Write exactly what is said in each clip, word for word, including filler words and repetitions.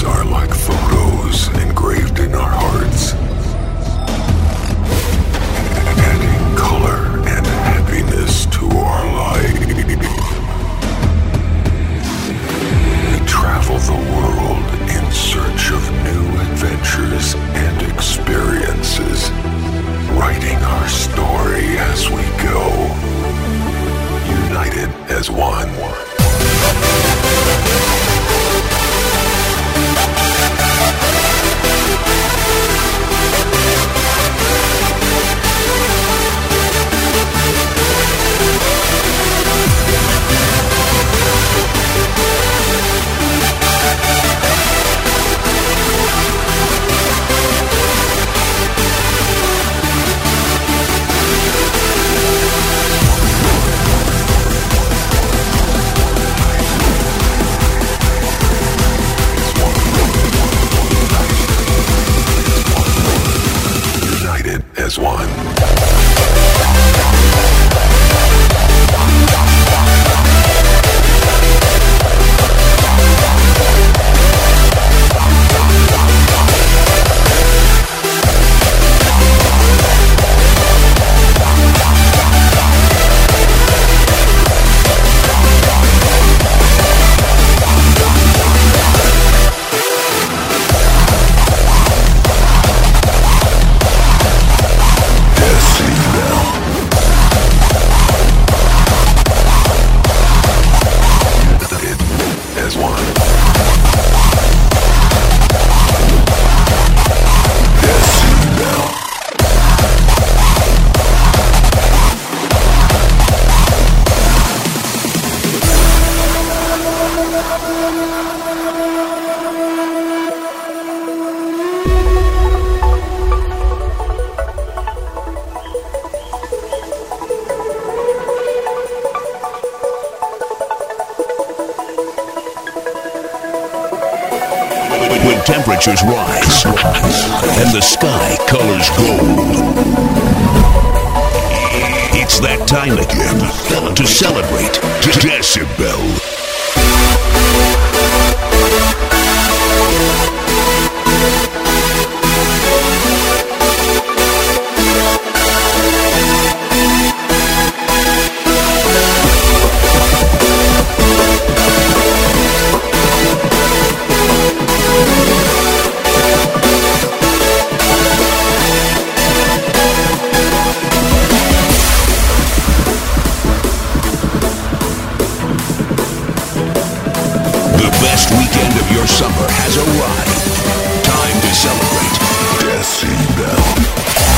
are like photos engraved in our hearts, adding color and happiness to our life. We travel the world in search of new adventures and experiences, writing our story as we go, united as one. As one. When temperatures rise and the sky colors gold, it's that time again to celebrate Decibel. Weekend of your summer has arrived. Time to celebrate Decibel.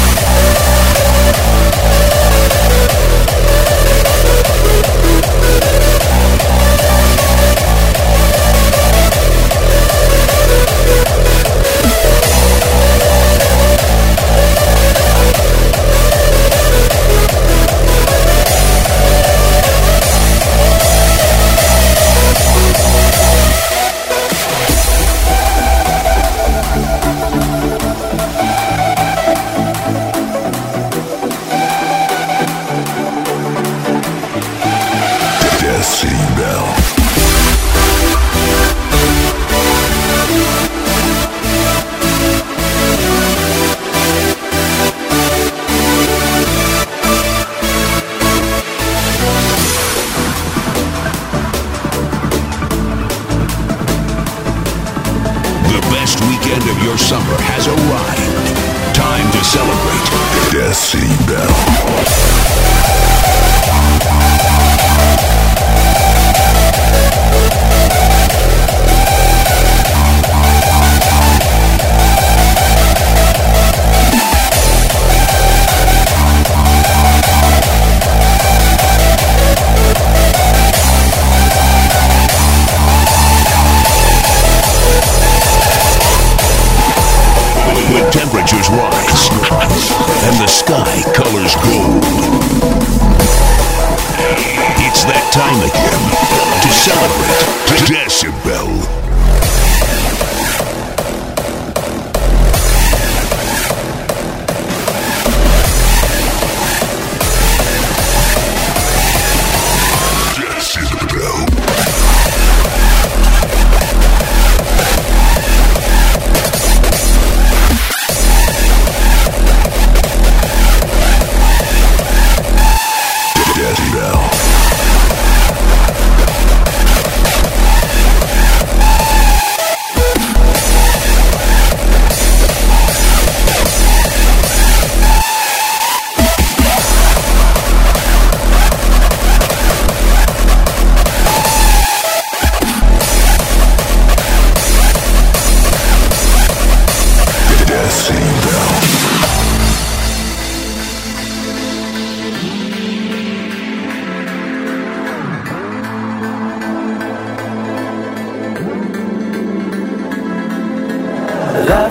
Weekend of your summer has arrived. Time to celebrate Decibel. When temperatures rise and the sky colors gold, it's that time again to celebrate Decibel. Decibel.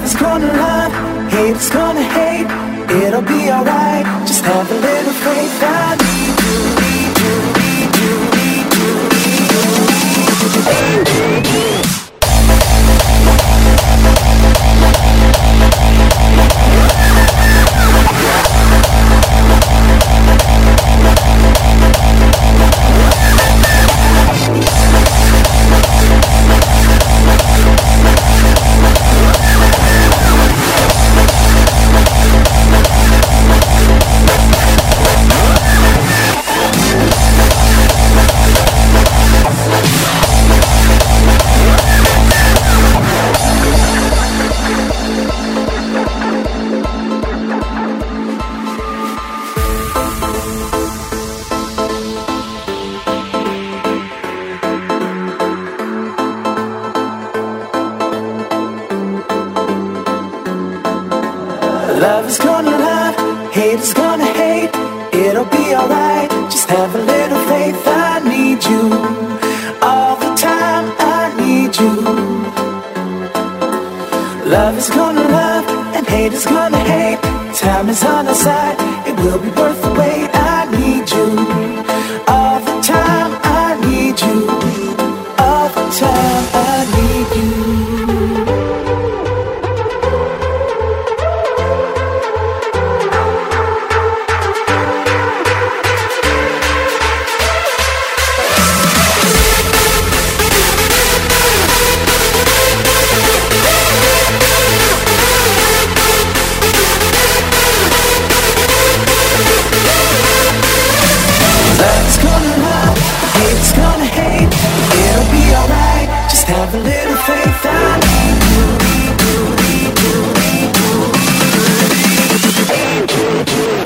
is gonna love, hate is gonna hate. It'll be alright, just have a little faith. I need you, need you, need you, need you, need you, need you, need you. Love is gonna love, hate is gonna hate. It'll be alright, just have a little faith. I need you, all the time I need you. Love is gonna love, and hate is gonna hate. Time is on our side, it will be worth the wait. I need you, all the time I need you. All the time I need you. Have a little faith, I need you, need you, need you, need you, need you, need you.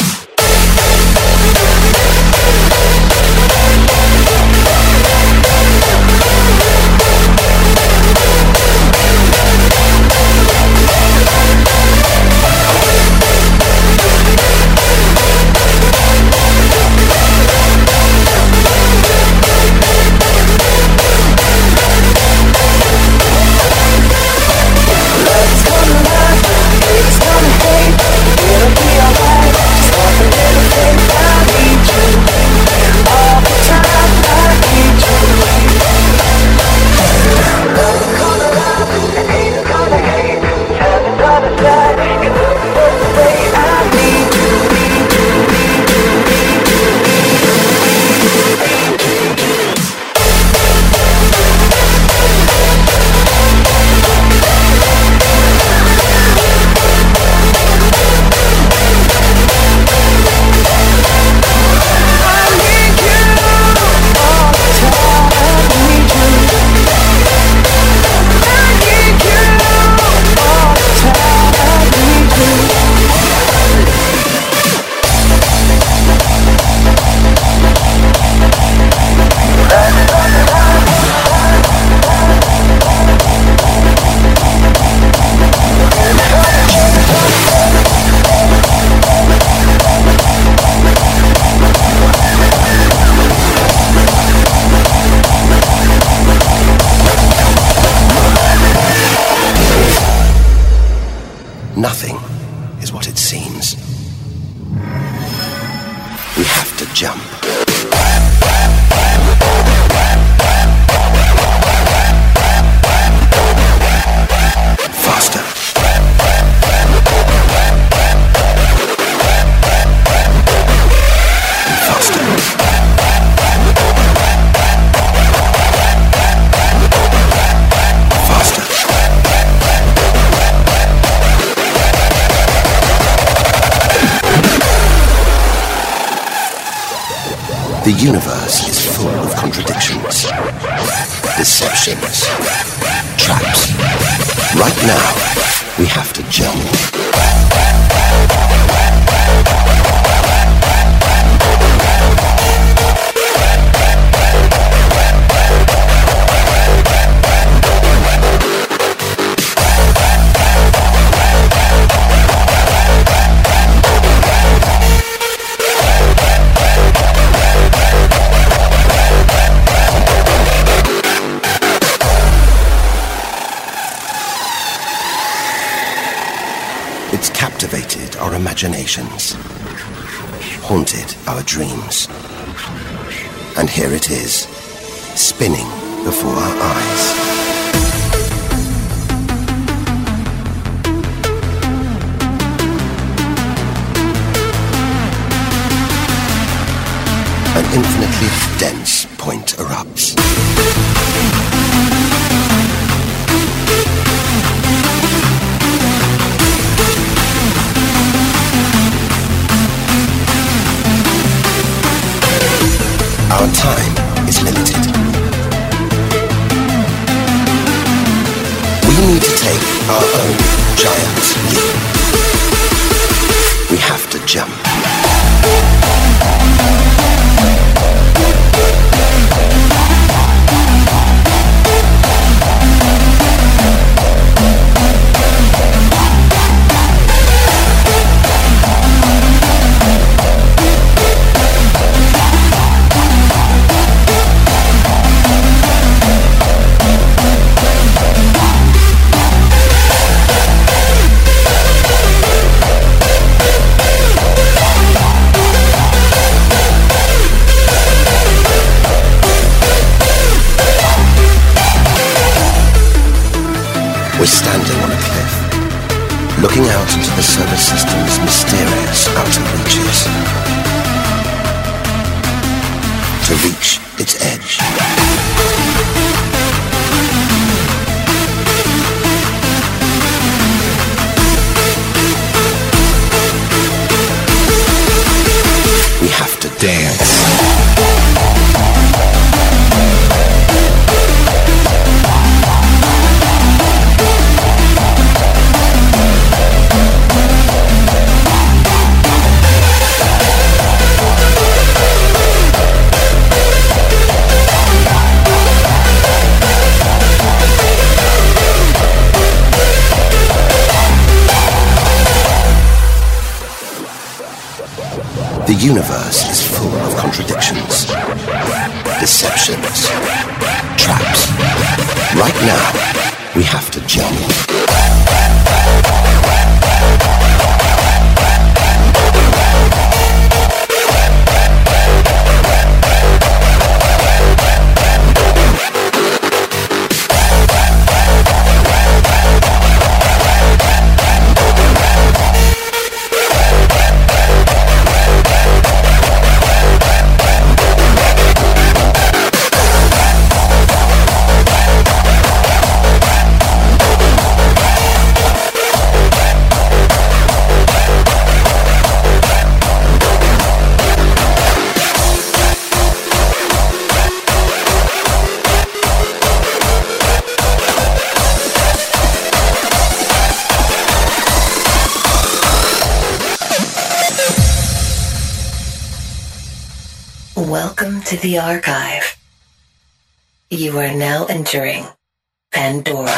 Nothing is what it seems. We have to jump. Faster. Faster. Faster. The universe is full of contradictions, deceptions, traps. Right now, we have to jump. It's captivated our imaginations, haunted our dreams. And here it is, spinning before our eyes. An infinitely dense point erupts. Our time is limited. We need to take our own giant leap. We have to jump. We're standing on a cliff, looking out into the solar system's mysterious outer reaches. To reach its edge. We have to dance. The universe is full of contradictions, deceptions, traps. Right now, we have to jump. Welcome to the archive. You are now entering Pandora.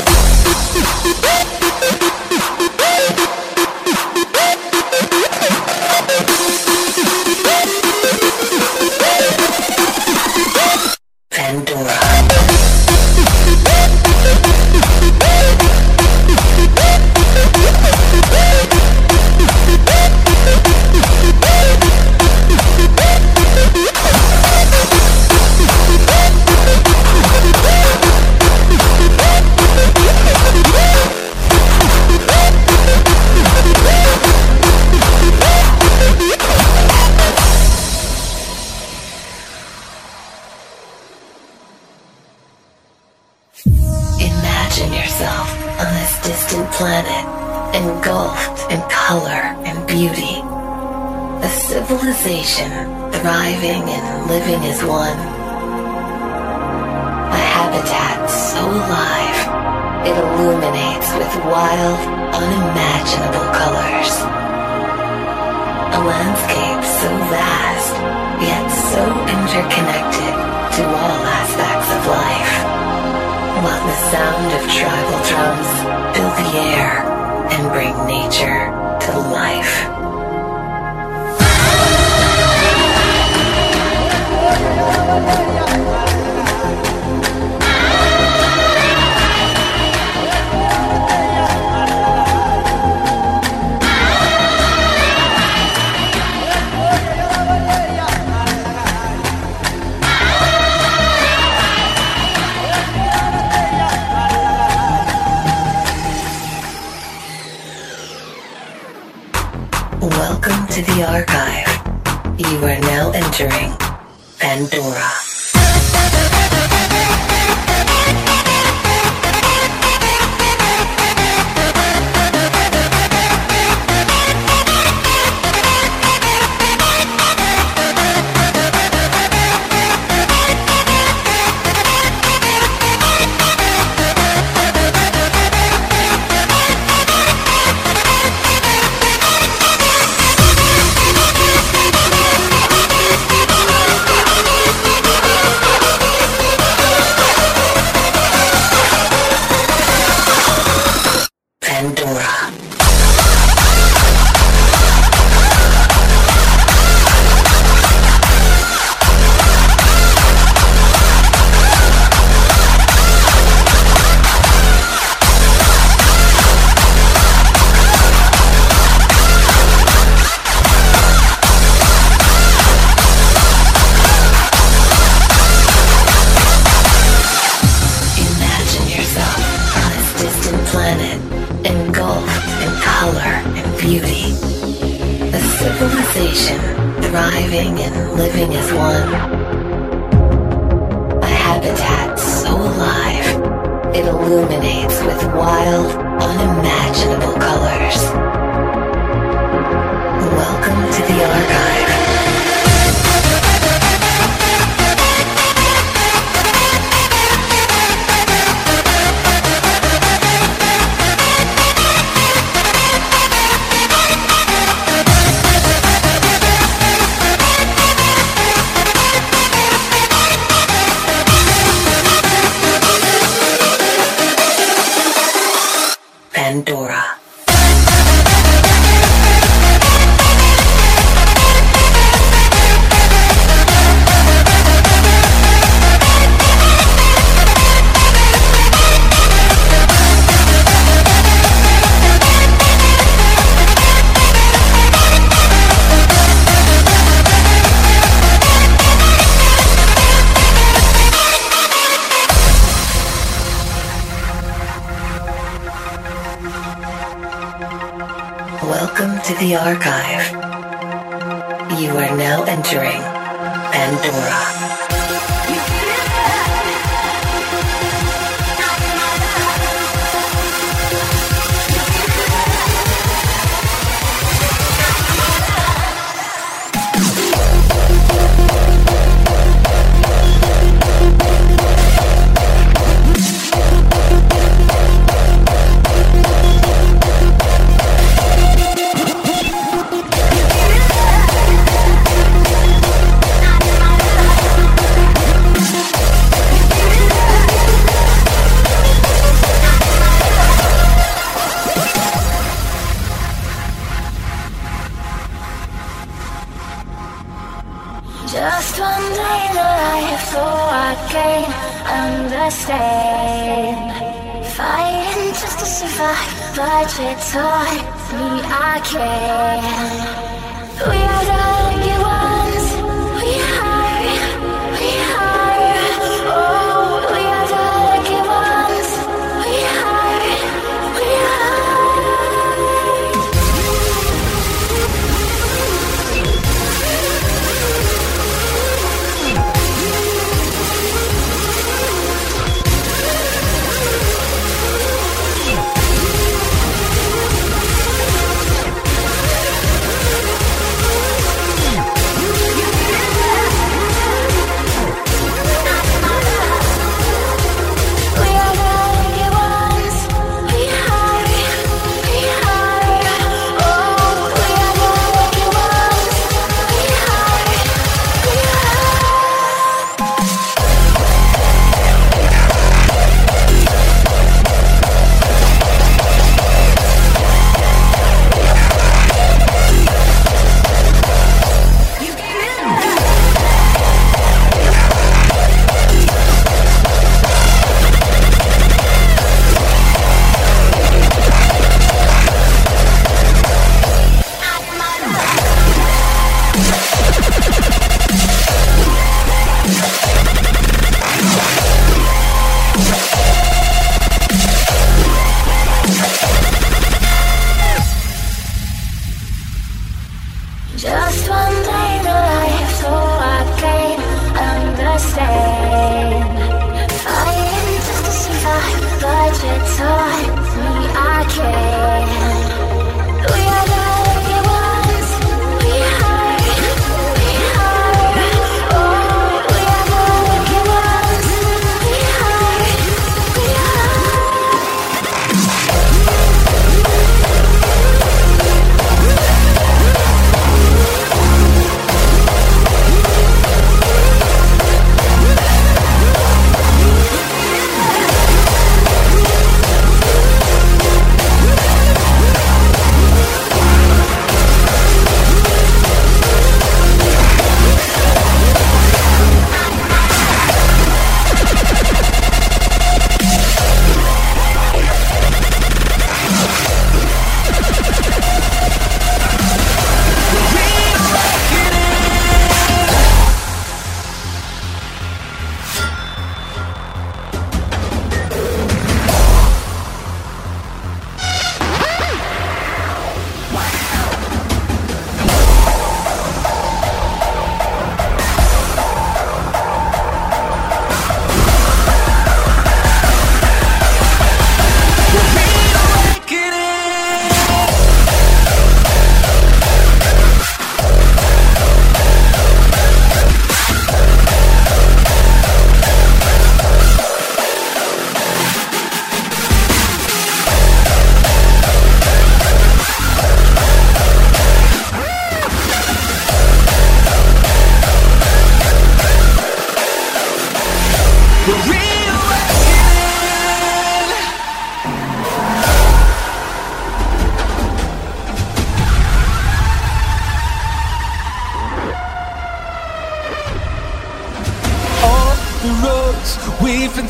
Pandora. Imagine yourself on this distant planet, engulfed in color and beauty. A civilization thriving and living as one. A habitat so alive, it illuminates with wild, unimaginable colors. A landscape so vast, yet so interconnected to all aspects of life. While the sound of tribal drums fill the air and bring nature to life. to the archive. You are now entering Pandora. Thriving and living as one. A habitat so alive, it illuminates with wild, unimaginable colors. Welcome to the archive. Pandora. Welcome to the archive. You are now entering Pandora. Just one day in life, so I can't understand. Fighting just to survive, but you taught me I can. We are the lucky ones. We are, we are. Oh, we are the lucky ones. We are, we are.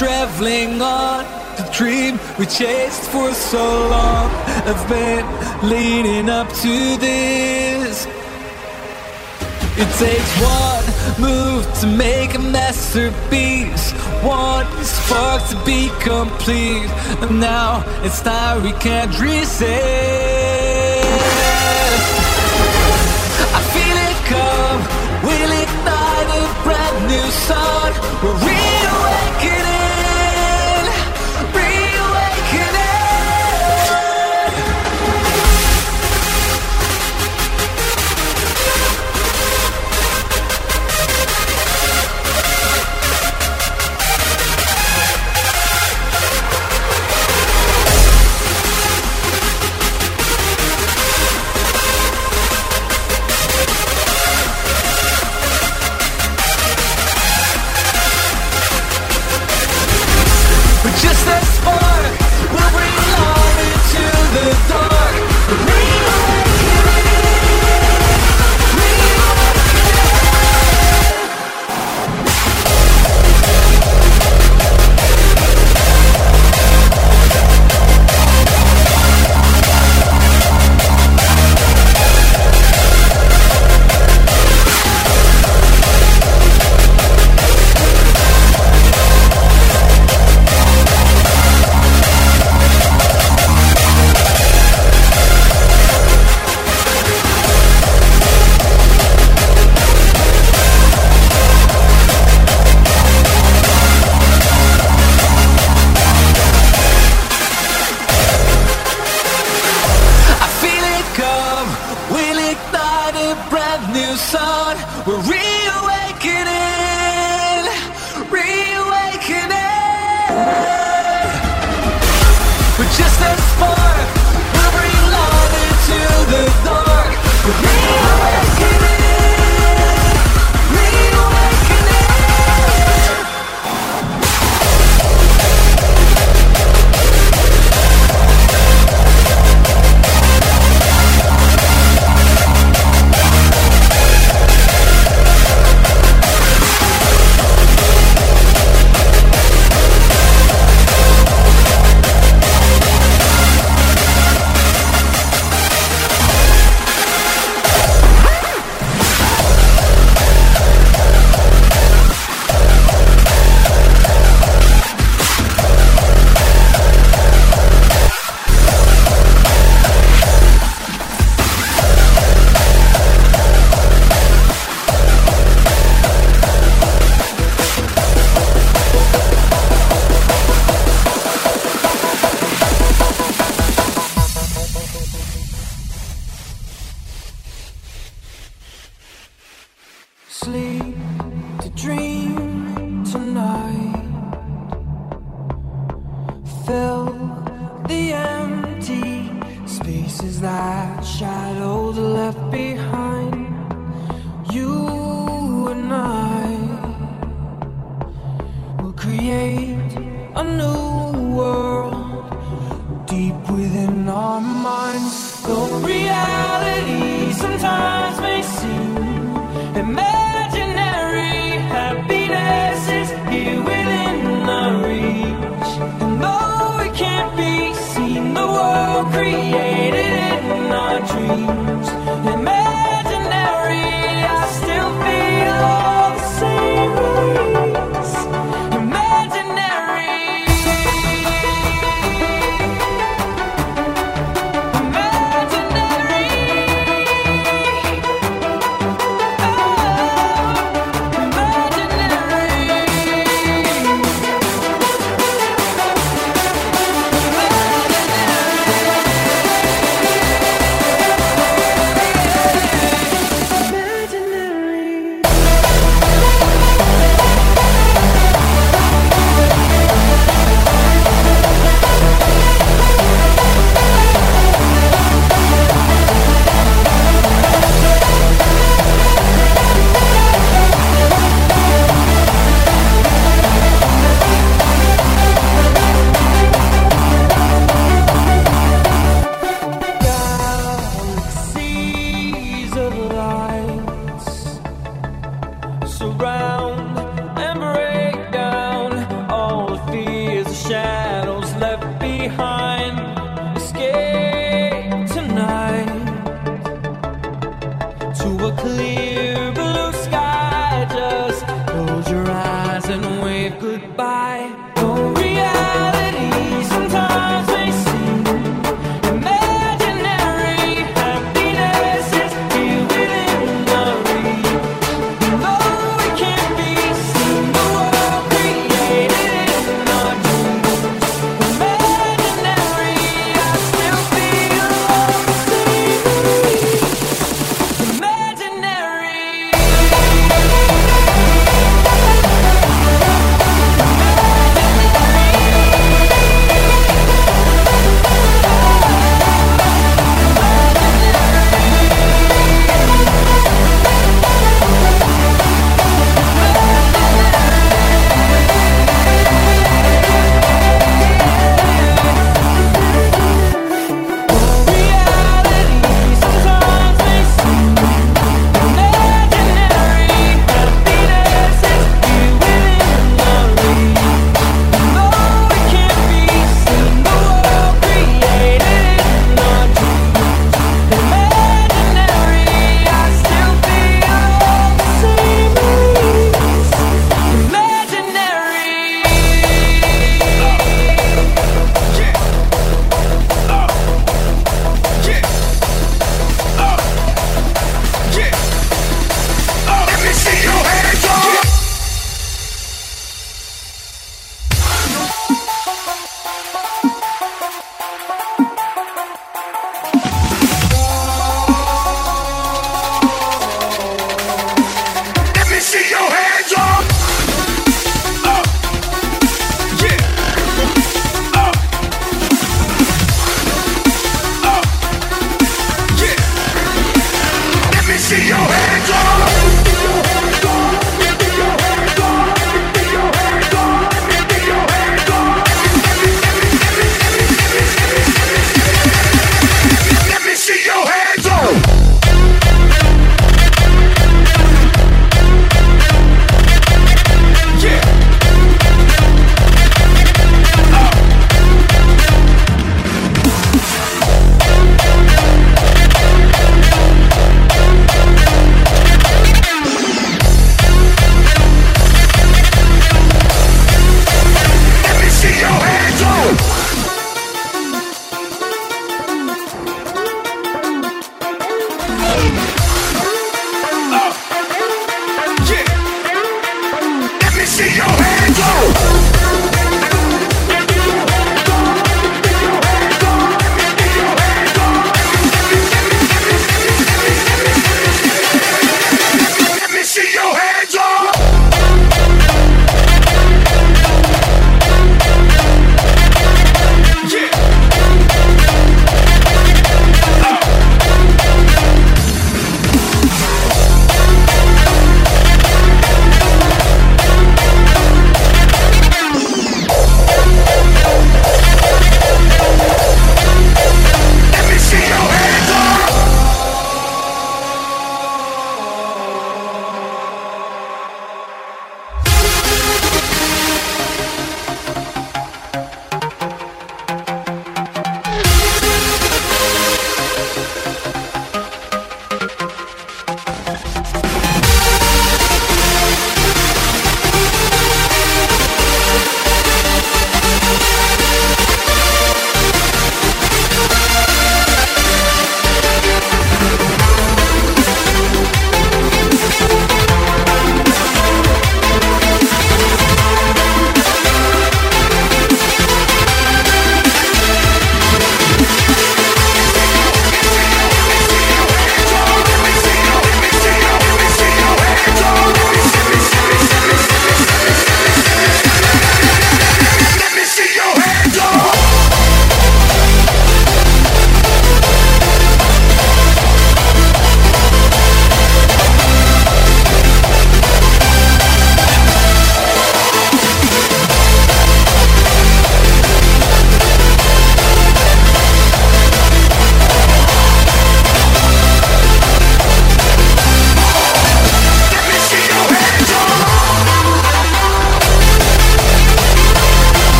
traveling on the dream we chased for so long. I've been leading up to this. It takes one move to make a masterpiece, one spark to be complete, and now it's time we can't resist. I feel it come, we'll ignite a brand new sun. We're reawakening. Just a spark will bring light into the dark. We're reawakening, reawakening. We're just a spark, we'll bring light into the dark. We're reawakening, reawakening. Sleep to dream tonight. Fill the empty spaces that shadows left behind. You and I will create a new world deep within our minds. Though reality sometimes may seem imaginary, happiness is here within our reach. And though it can't be seen, the world created in our dreams. Imaginary, I still feel all the same ways. Imaginary. behind. Escape tonight to a clear blue sky. Just close your eyes and wave goodbye. Oh, reality sometimes may seem imaginary. Happiness is here within the reach. Though it can't be seen, the world created in our dreams. Imaginary.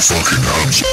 fucking house.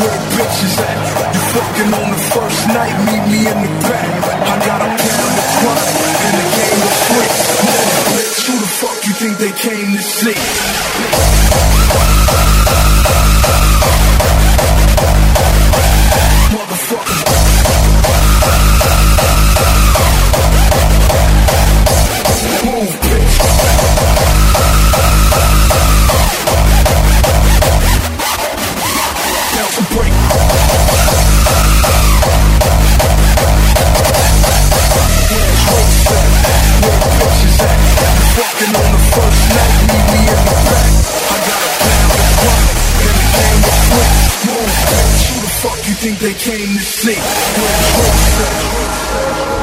where the bitches at? You fucking on the first night, meet me in the back. I got a pound of chronic and the game of freaks. Bitch, who the fuck you think they came to see? Motherfucker. Move, bitch. Bounce and break. Yeah, it's road set. Where the bitches at? You fucking on the first night, meet me in the back. I got a pound of chronic and the game of freaks. Move, bitch. Who the fuck you think they came to see? Where it's road set.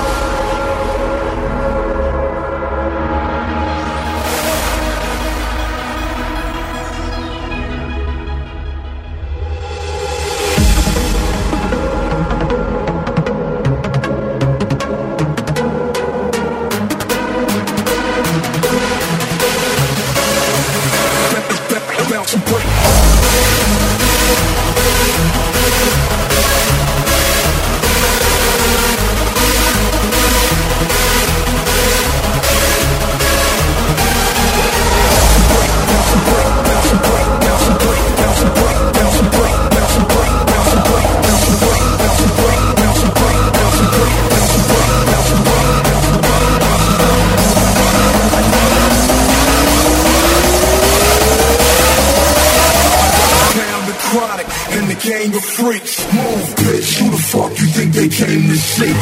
Gang of freaks, move, bitch. Who the fuck you think they came to see?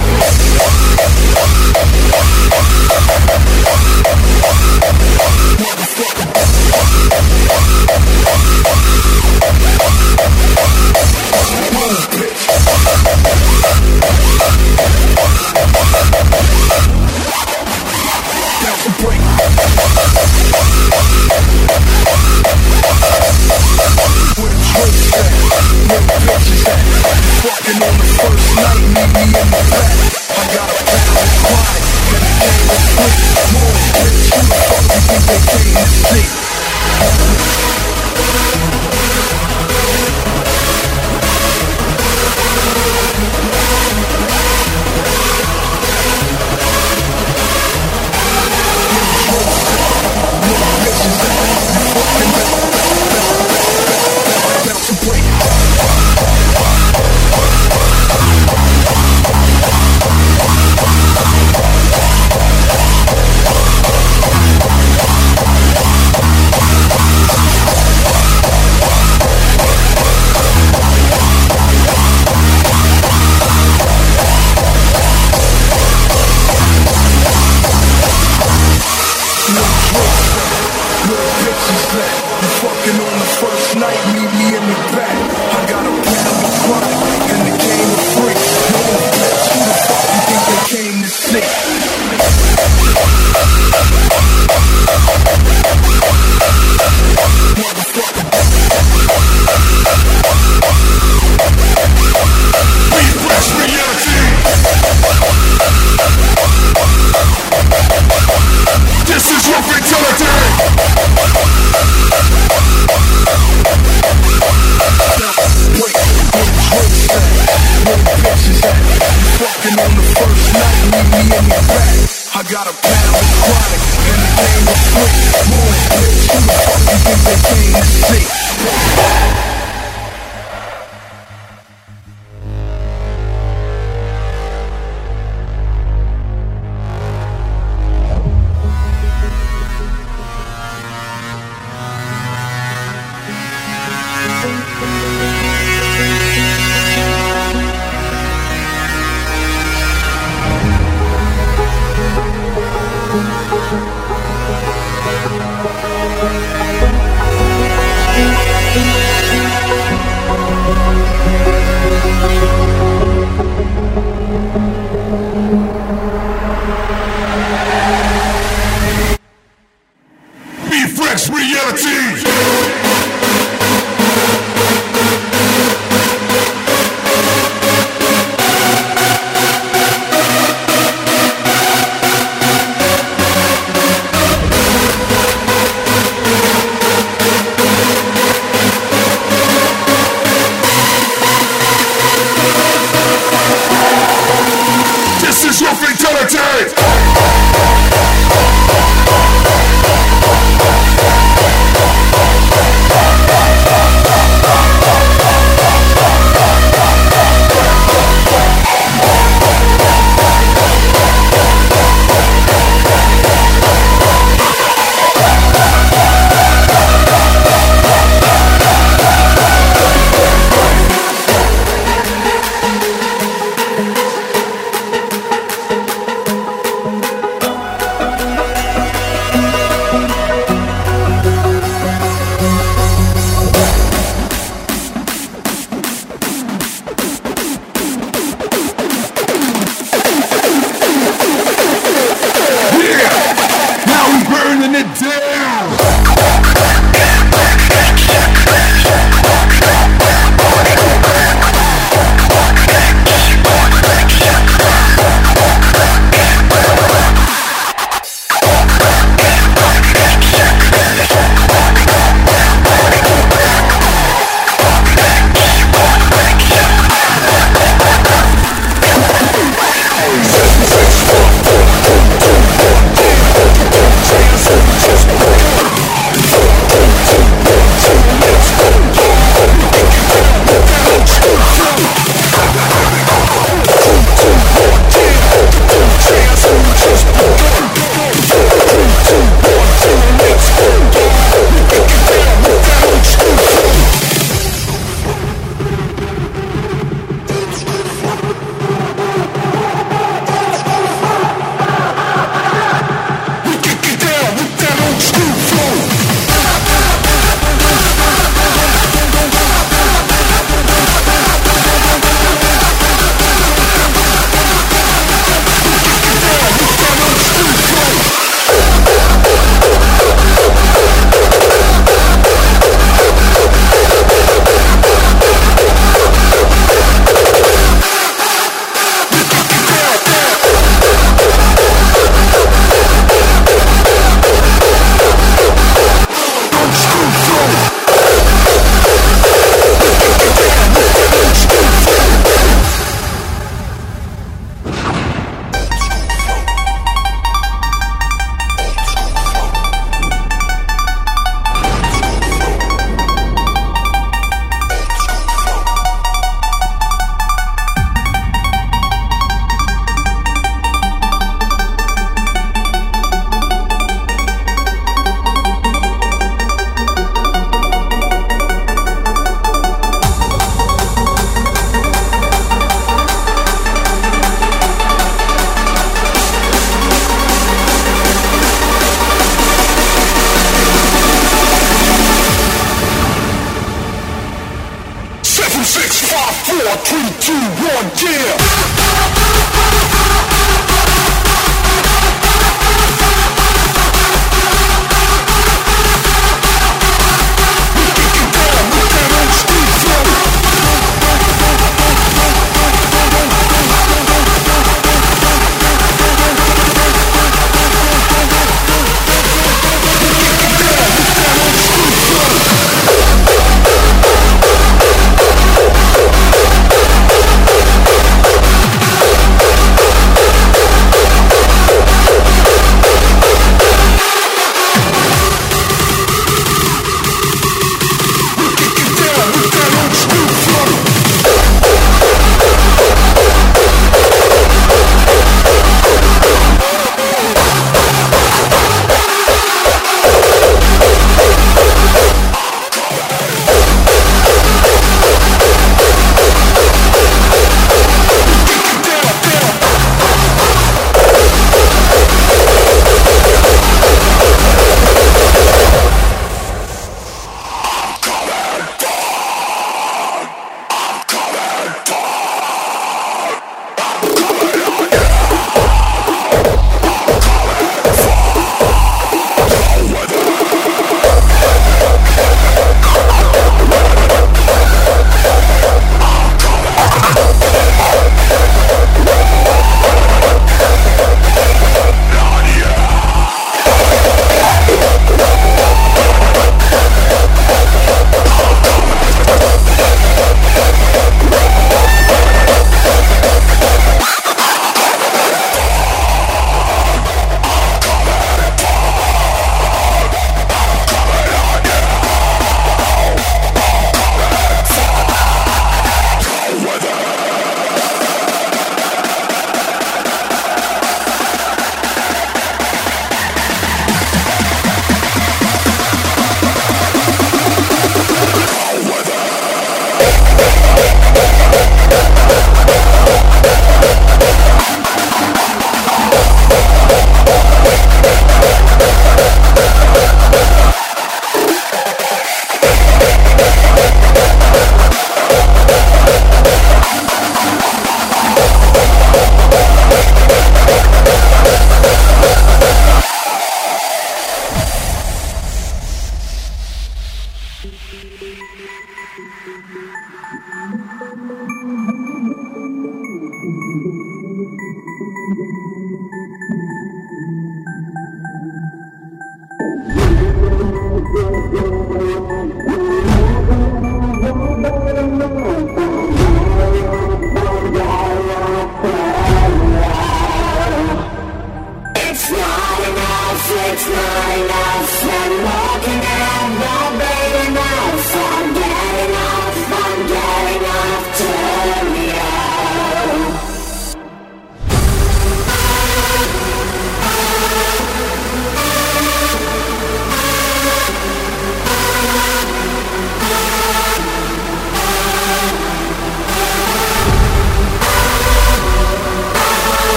Move, bitch. Bounce and break. Where the tricks at? Where the bitches at? You fucking on the first night, meet me in the back. I got a pound of chronic and the game of freaks. Move, bitch. Who the fuck you think they came to see?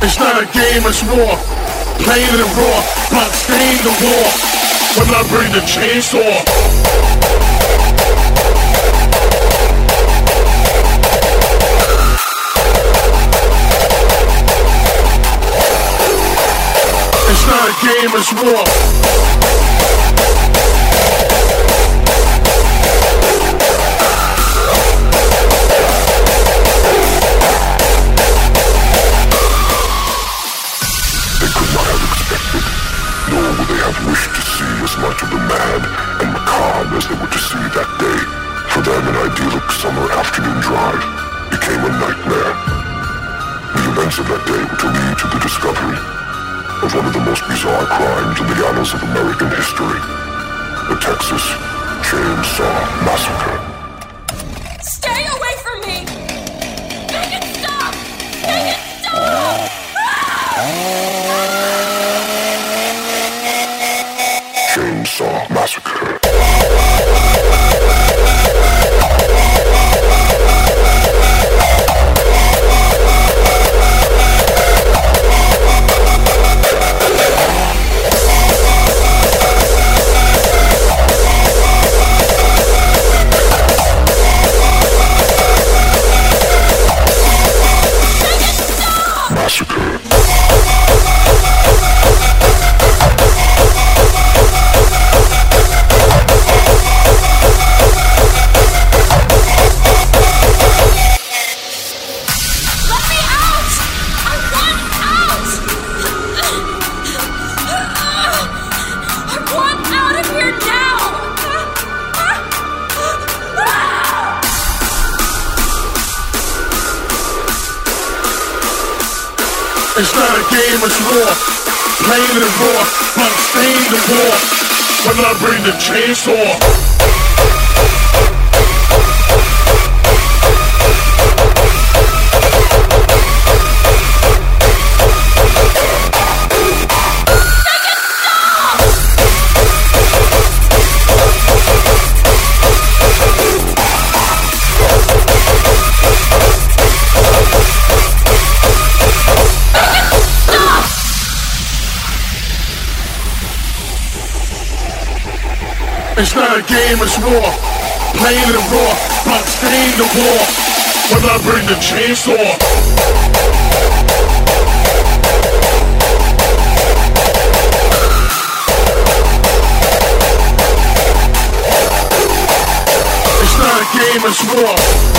It's not a game, it's war. Playing it raw, blood stain the war. When I bring the chainsaw. It's not a game, it's war. Wished to see as much of the mad and macabre as they were to see that day. For them, an idyllic summer afternoon drive became a nightmare. The events of that day were to lead to the discovery of one of the most bizarre crimes in the annals of American history, the Texas Chainsaw Massacre. Stay away from me! Make it stop! Make it stop! Chainsaw Massacre. It's not a game, it's war. Playing it raw, blood stain the war. When I bring the chainsaw. It's not a game, it's war. Playing it raw, blood stain the war. When I bring the chainsaw. It's not a game, it's war.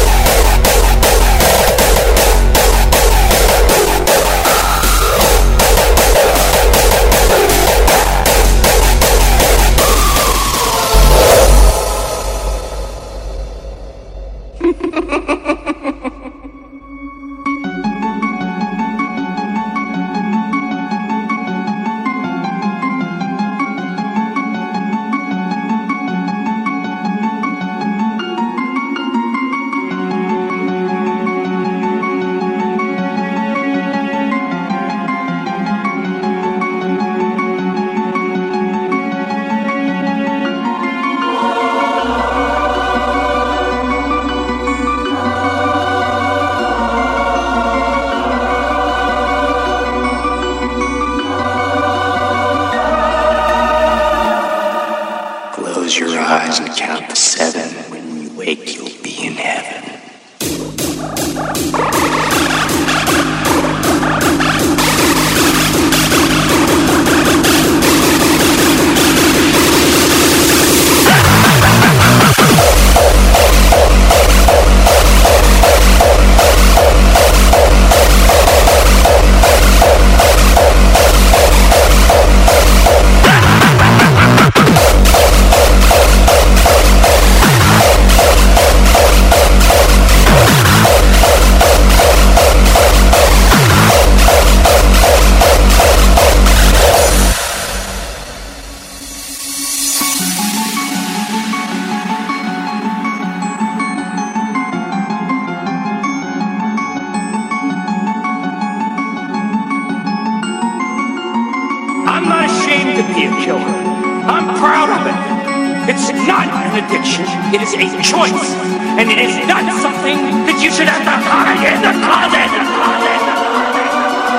It is a choice, and it is not something that you should have to hide in the closet.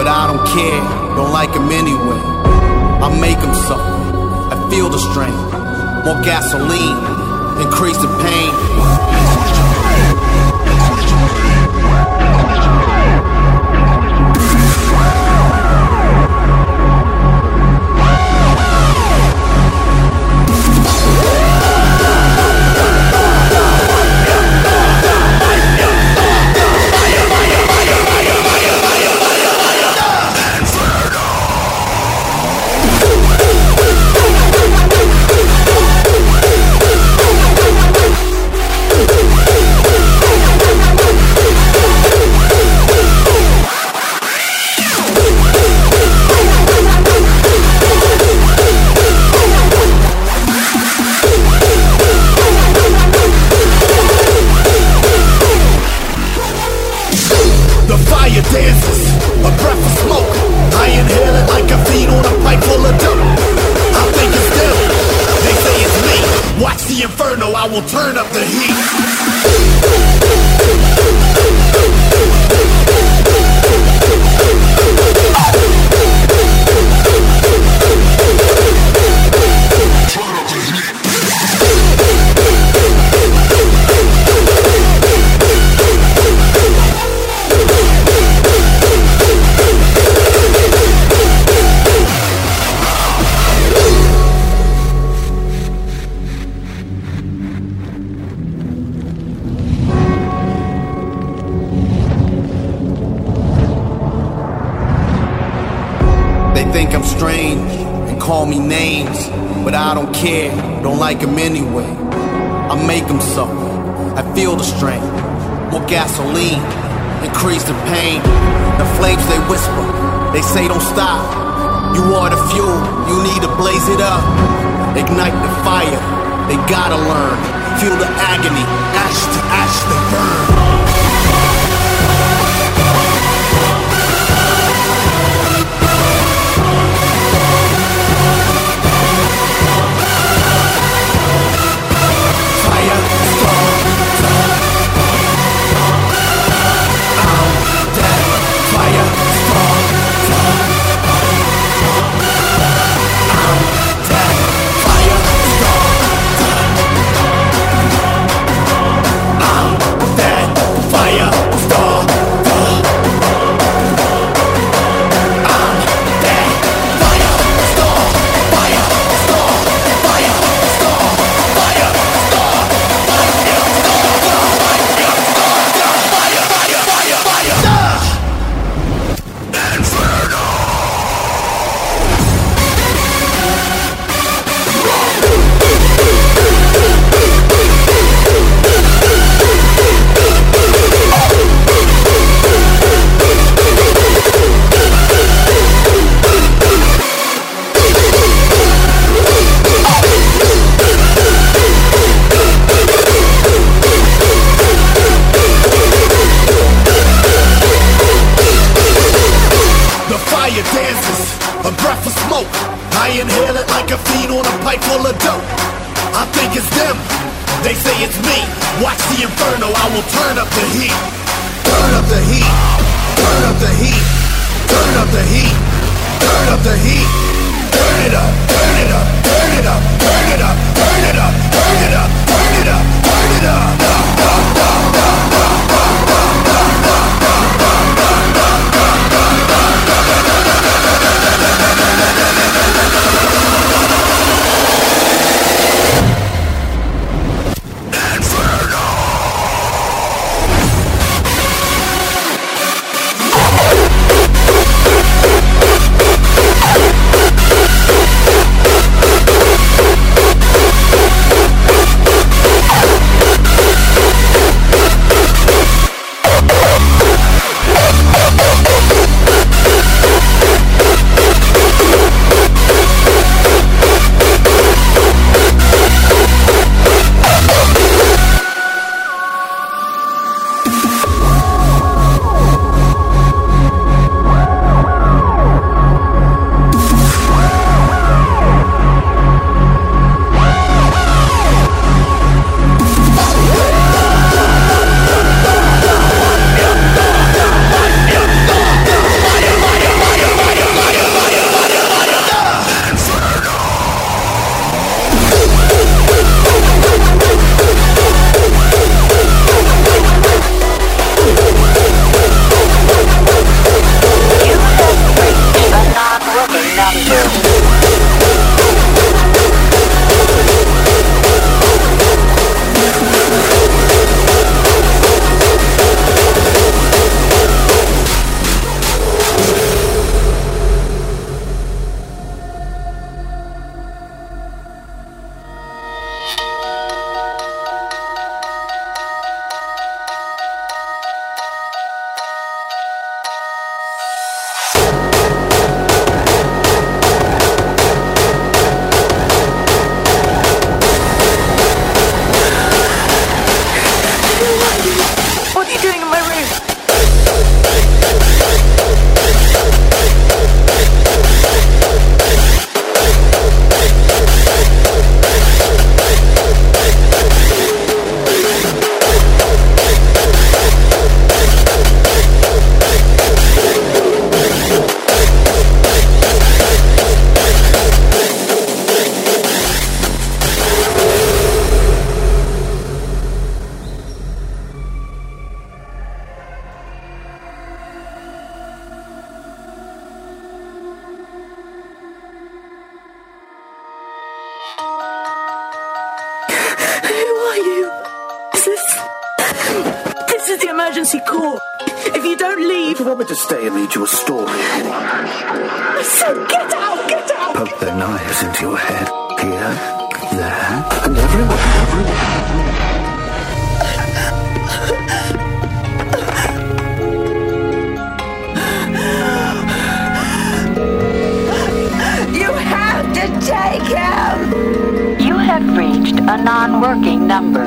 but I don't care, don't like him anyway. I make him suffer, I feel the strain. More gasoline, increase the pain. I will turn up the heat. Think I'm strange and call me names, but I don't care, don't like him anyway. I make him suffer, I feel the strain. More gasoline, increase the pain. The flames they whisper, they say don't stop. You are the fuel, you need to blaze it up. Ignite the fire, they gotta learn. Feel the agony, ash to ash they burn. Who are you? Is this... This is the emergency call. If you don't leave... Do you want me to stay and read you a story? I said get out, get out! Poke their knives into your head. Here, there, and everywhere, everywhere. Take him! You have reached a non-working number.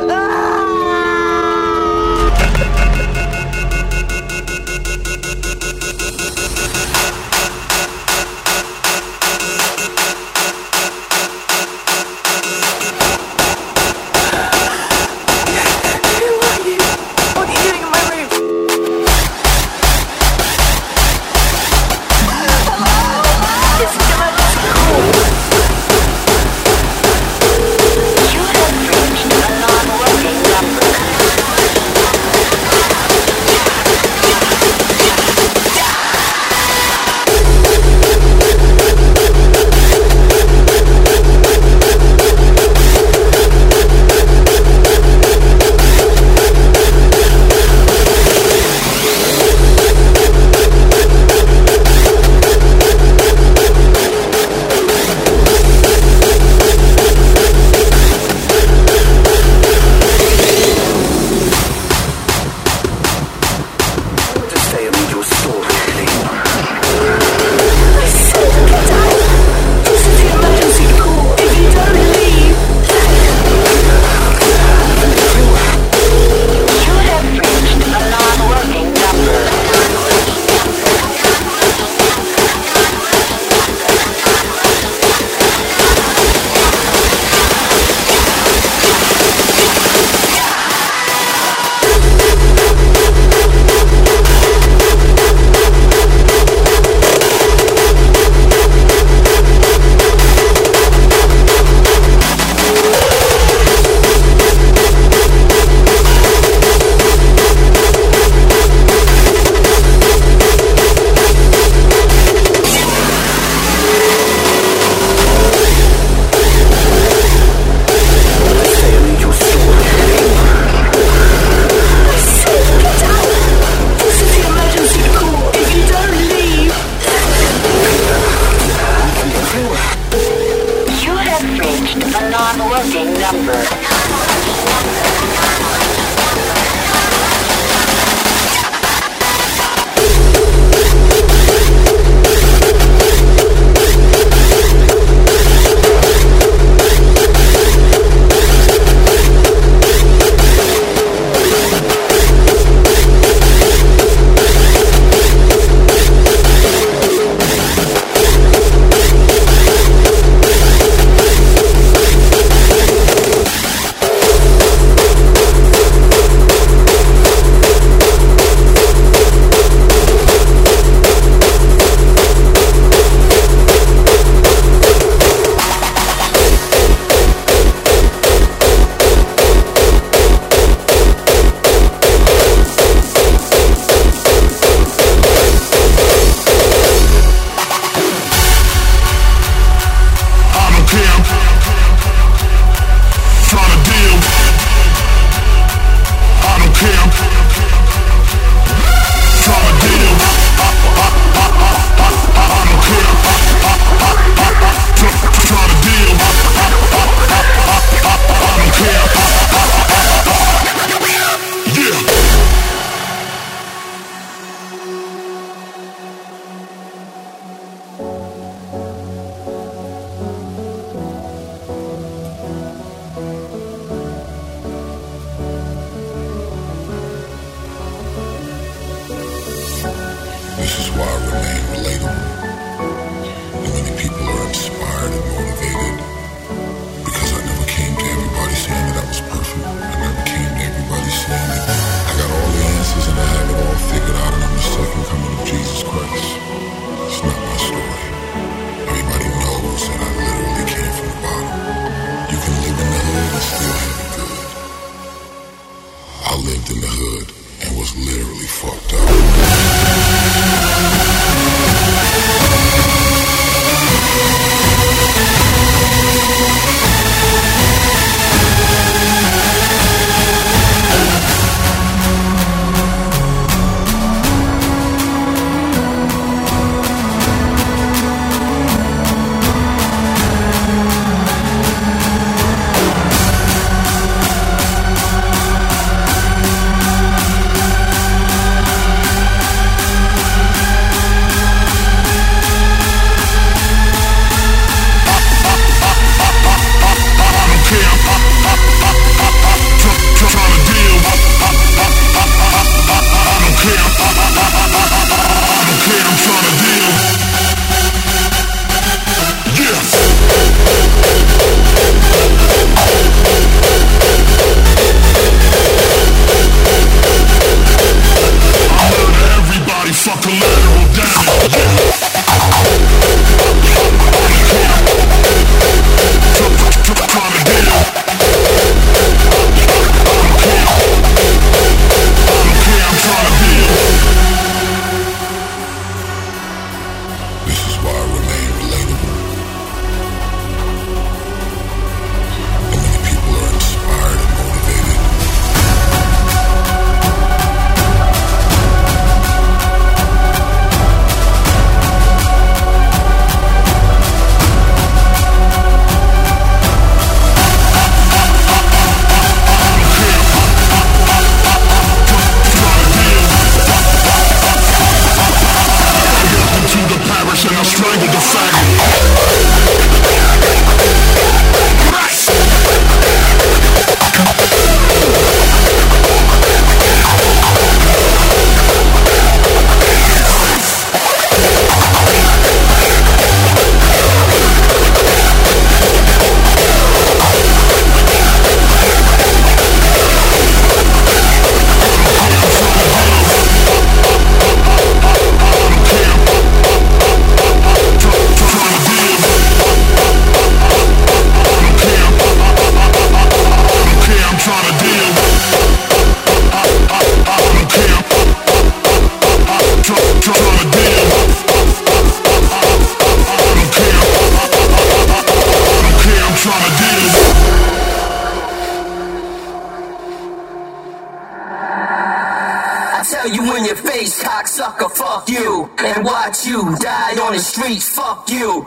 your face, cocksucker, fuck you. And watch you die on the streets, fuck you.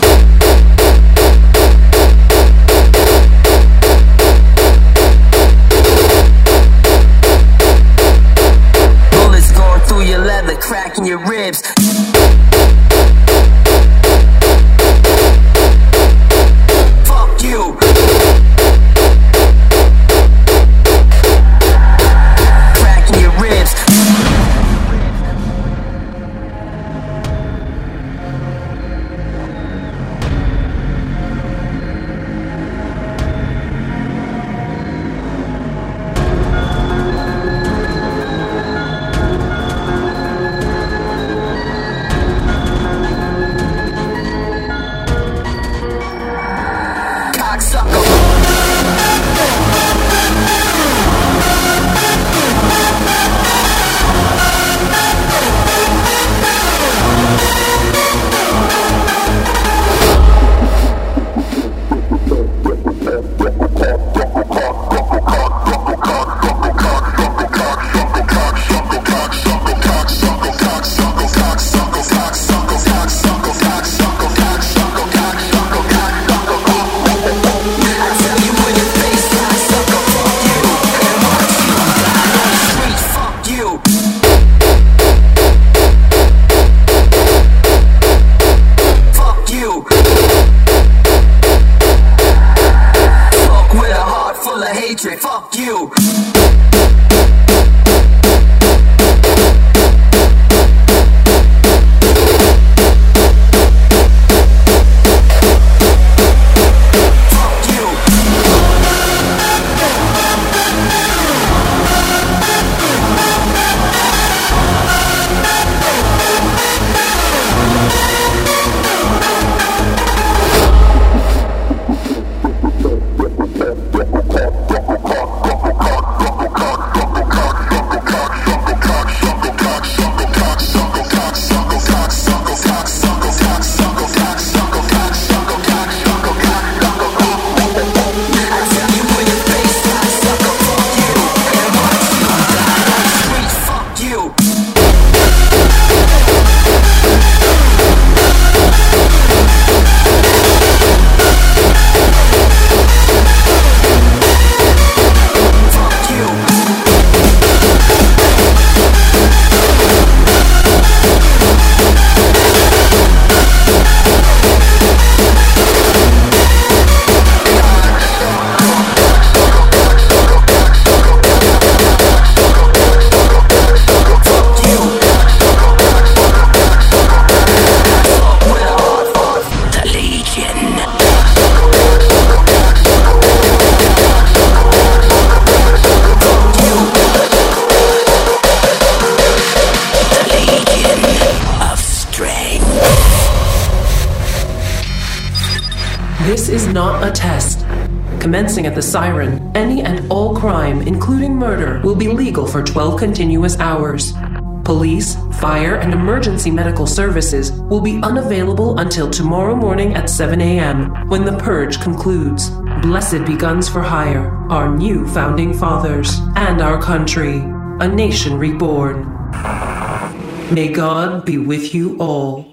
Bullets going through your leather, cracking your ribs. Fuck you. Cracking your ribs. Fuck you. This is not a test. Commencing at the siren, any and all crime, including murder, will be legal for twelve continuous hours. Police, fire, and emergency medical services will be unavailable until tomorrow morning at seven a.m. when the purge concludes. Blessed be guns for hire, our new founding fathers, and our country, a nation reborn. May God be with you all.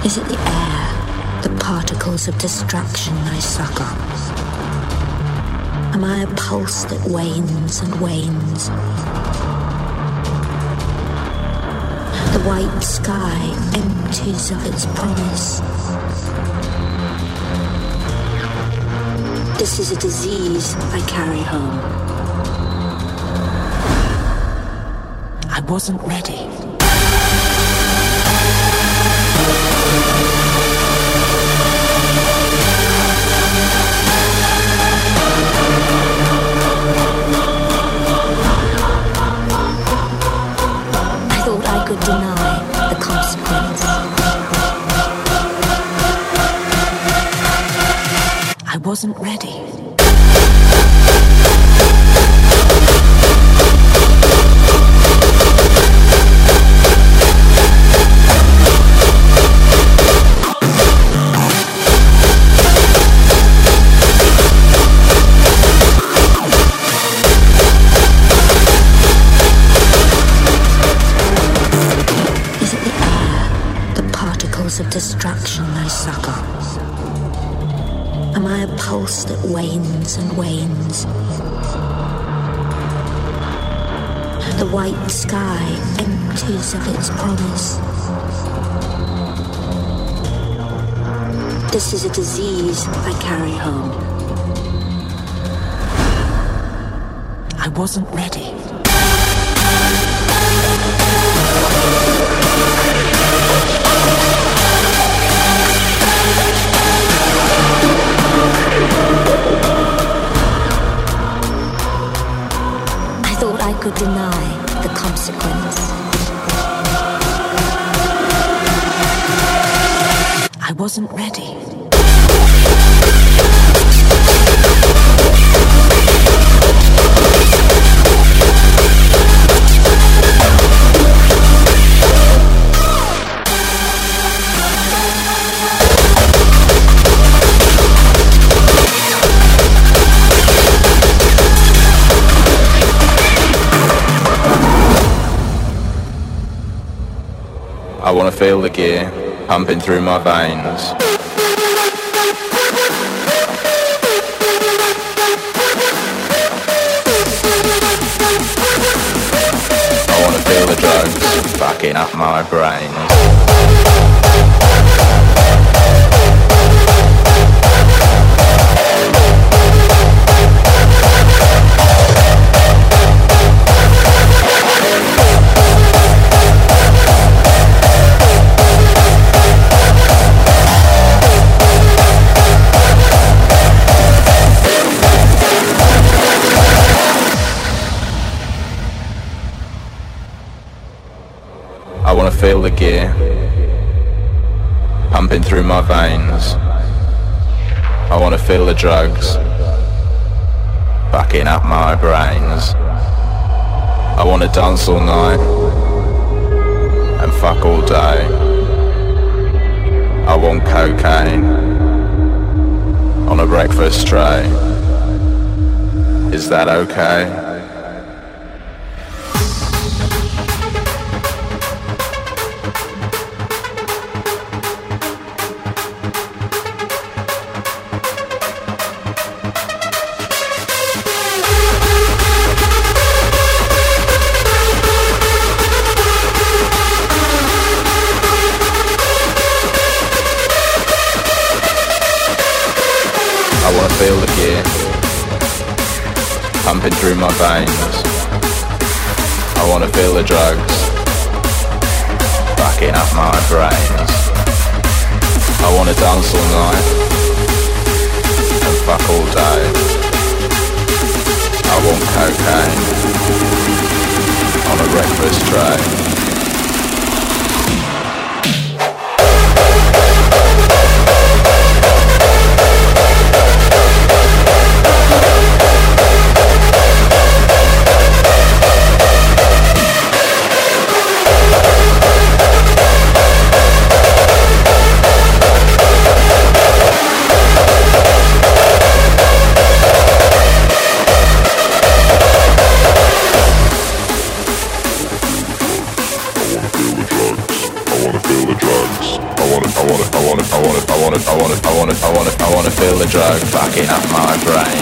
Is it the air, the particles of destruction I suck up? Am I a pulse that wanes and wanes? The white sky empties of its promise. This is a disease I carry home. I wasn't ready. I thought I could deny the consequence. I wasn't ready. Of destruction I suck up. Am I a pulse that wanes and wanes? The white sky empties of its promise. This is a disease I carry home. I wasn't ready. I thought I could deny the consequence. I wasn't ready. I wanna feel the gear pumping through my veins. I wanna feel the drugs fucking up my brain. I wanna feel the gear pumping through my veins. I wanna feel the drugs fucking up my brains. I wanna dance all night and fuck all day. I want cocaine on a breakfast tray. Is that okay? I wanna feel the gear pumping through my veins. I wanna feel the drugs fucking up my brains. I wanna dance all night and fuck all day. I want cocaine on a breakfast tray. the drugs. I wanna, I wanna, I wanna, I wanna, I wanna, I wanna, I wanna, I wanna, I wanna feel the drug backing up my brain.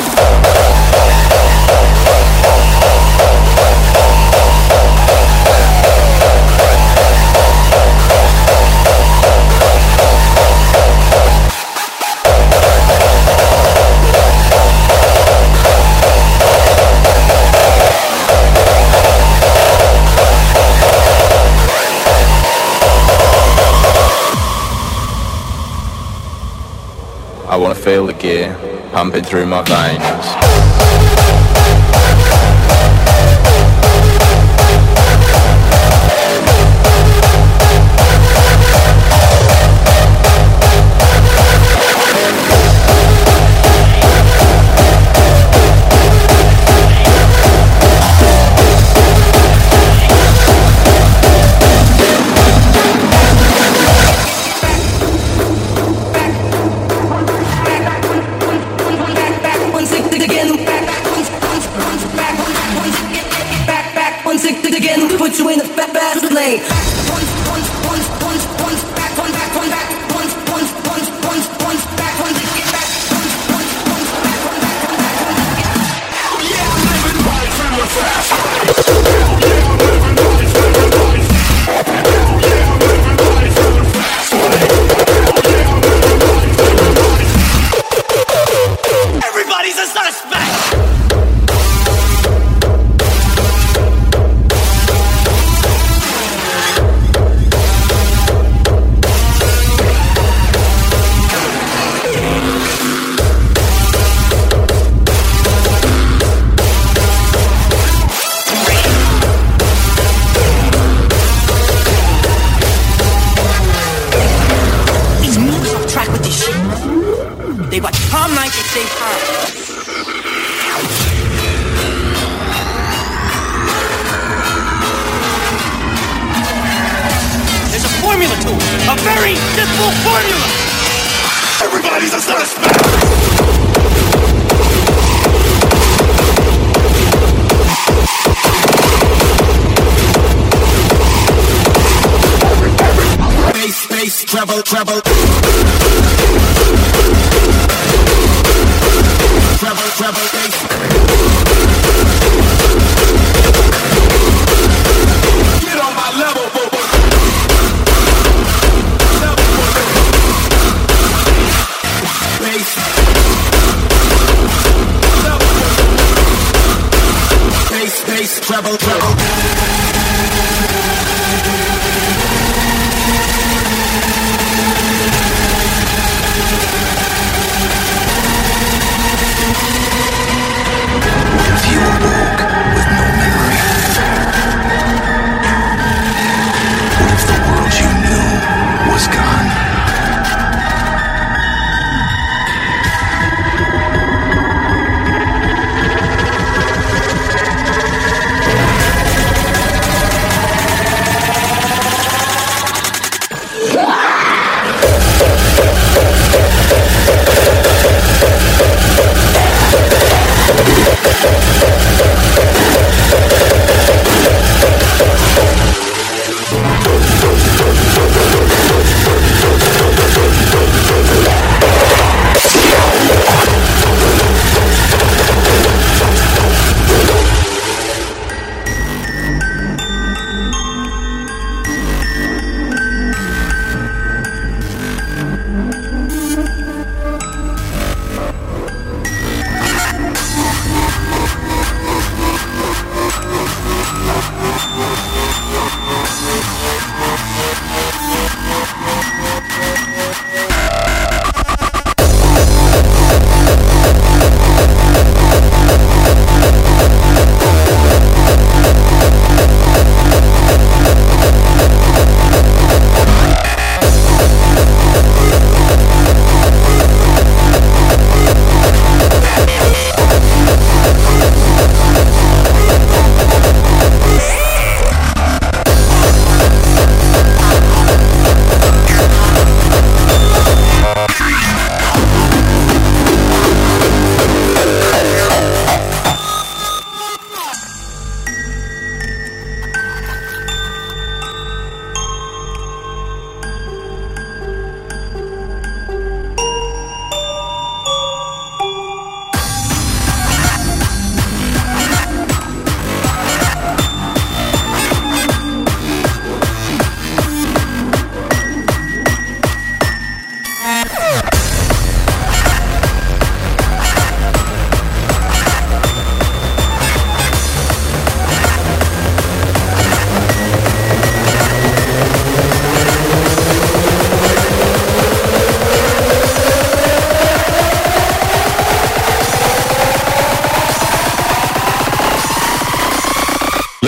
I wanna feel the gear pumping through my veins. Put you in the fat fast lane. Everybody's a suspect. They watch Palm Night and stay calm. There's a formula to it. A very simple formula. Everybody's a suspect. Bass, bass, treble, treble. Treble, treble, bass. Get on my level, boy. Bass. Bass, bass, treble, treble.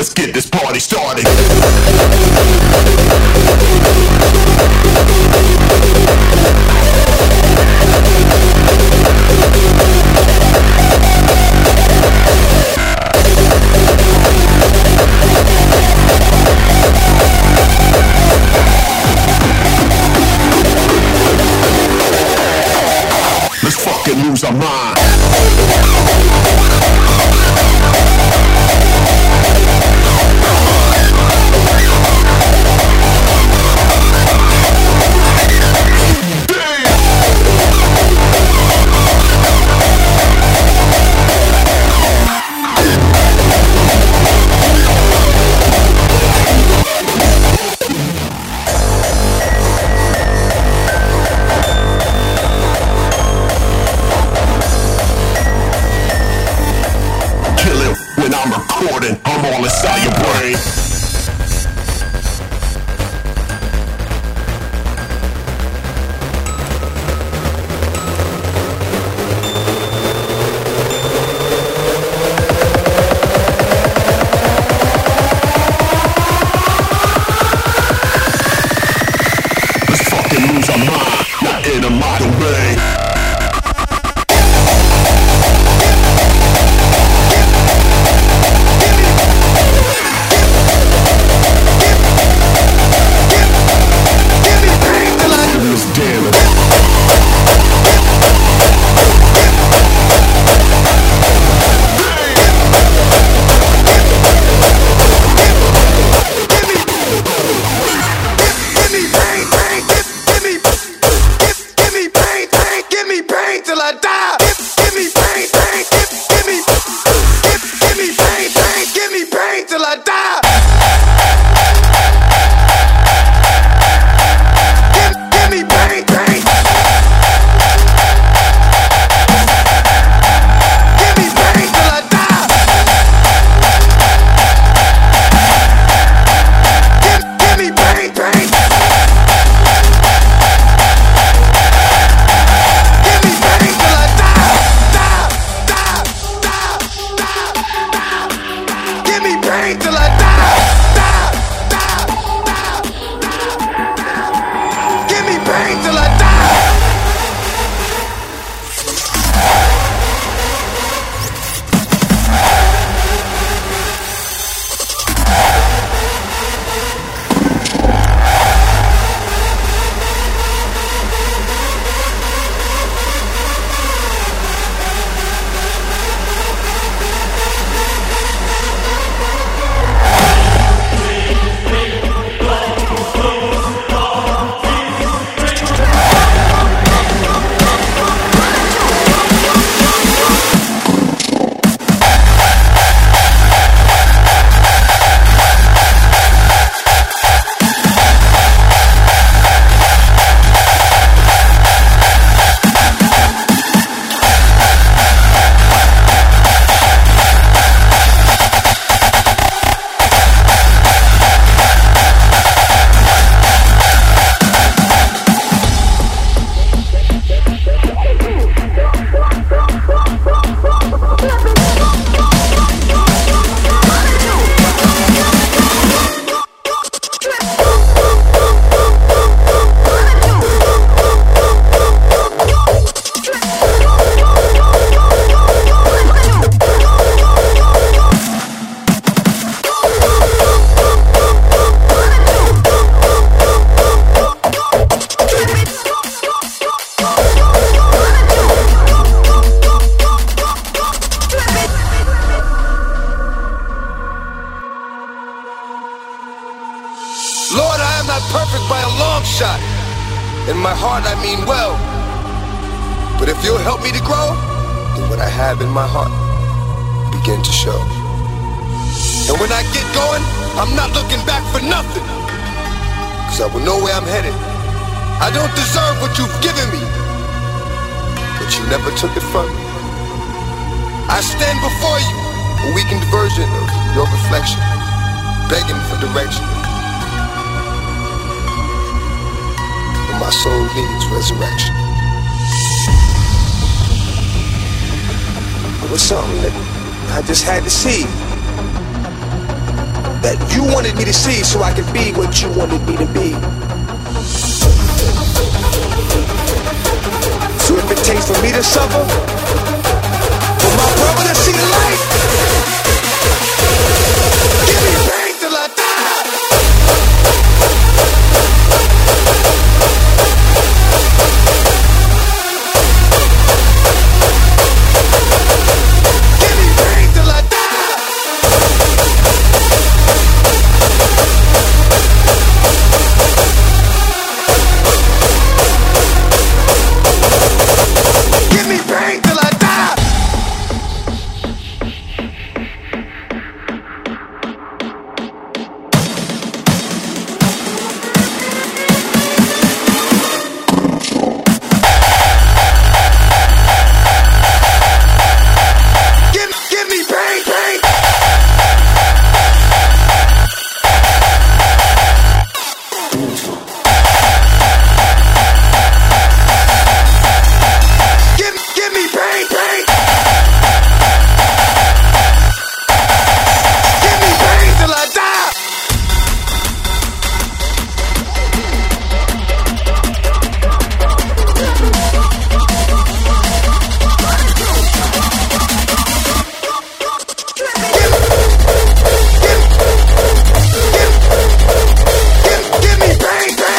let's get this party started. Let's fucking lose our mind. I'm all inside your brain. Let's fucking lose our mind, not in a modern way. perfect by a long shot. In my heart I mean well. But if you'll help me to grow, then what I have in my heart begin to show. And when I get going, I'm not looking back for nothing, cause I will know where I'm headed. I don't deserve what you've given me, but you never took it from me. I stand before you, a weakened version of your reflection, begging for direction. But my soul needs resurrection. It was something that I just had to see. that you wanted me to see so I could be what you wanted me to be. So if it takes for me to suffer, for my brother to see the light, give me pain till I die. Give me pain till I die. Give me pain till I die. Give, give me pain, pain. Give, give me pain, pain. Give me pain till I die. Give, give, give, give me pain, pain.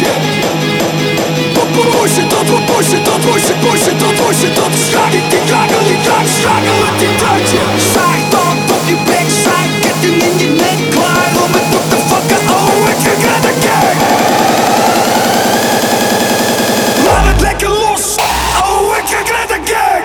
draadje. Push it, tot, push it, tot, push it, push it, tot, push it, tot. Schak het die krakel, die draad, schakel het die draadje. Side dog op je backside, ketting in je nek, klaar om het op te fucken. Oh, ik ga de gang. Laat het lekker los. Oh, ik ga de gang.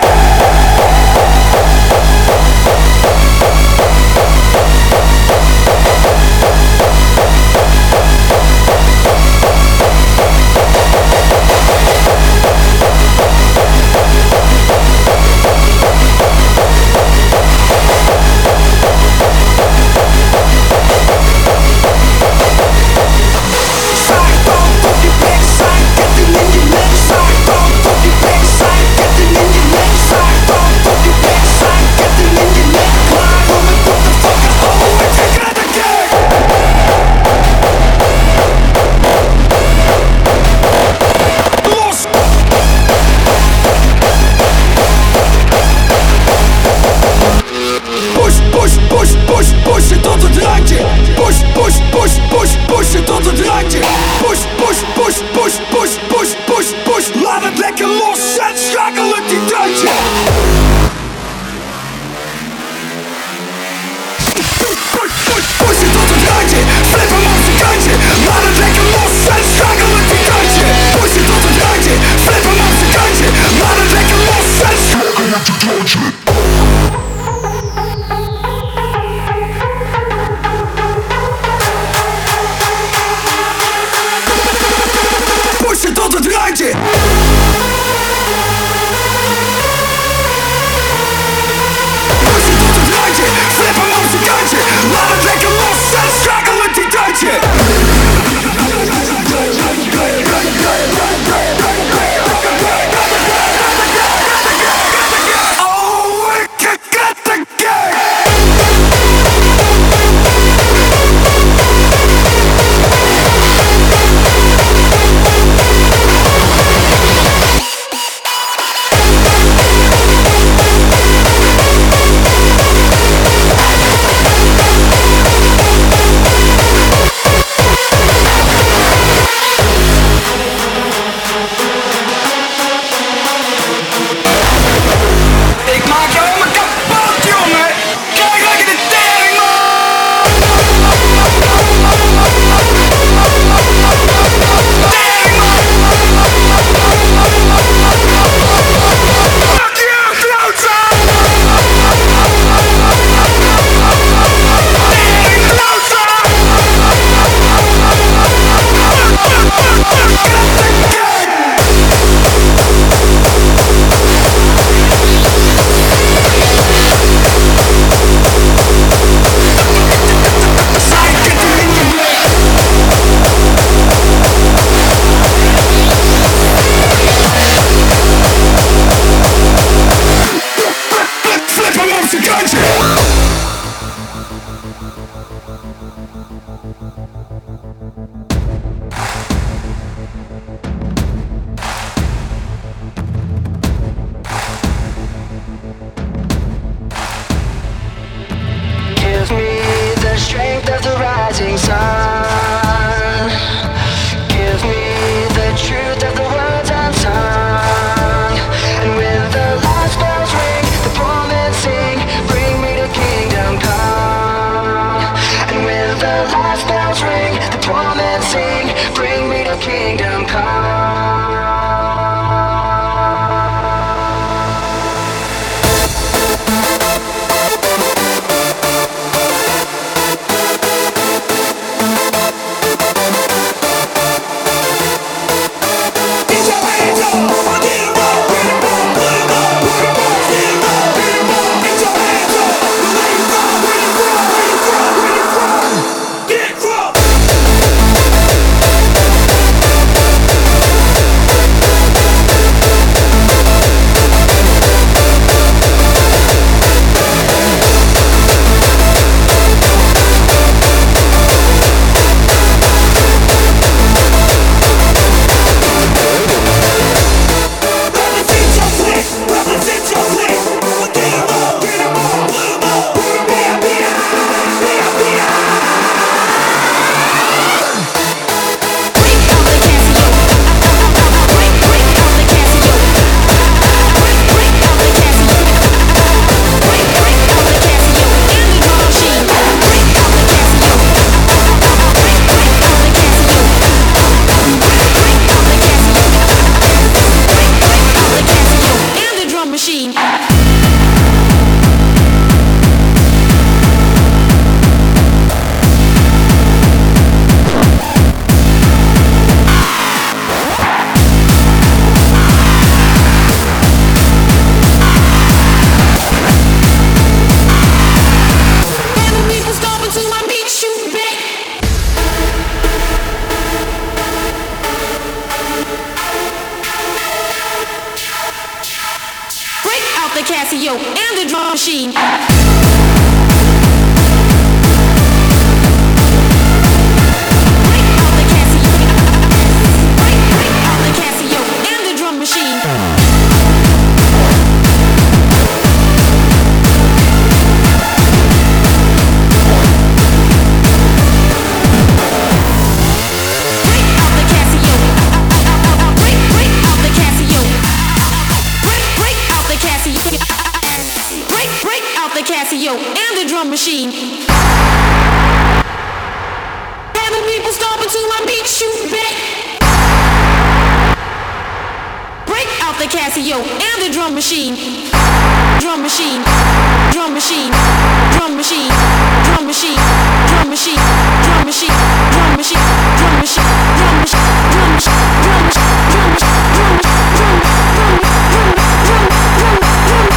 machine. Casio and the drum machine. And the people stomp until my beat shoot back. Break out the Casio and the drum machine. Drum machine, drum machine, drum machine, drum machine, drum machine, drum machine, drum machine, drum machine, drum machine, drum machine, drum machine, drum machine, drum machine, drum machine, drum machine, drum machine, drum machine.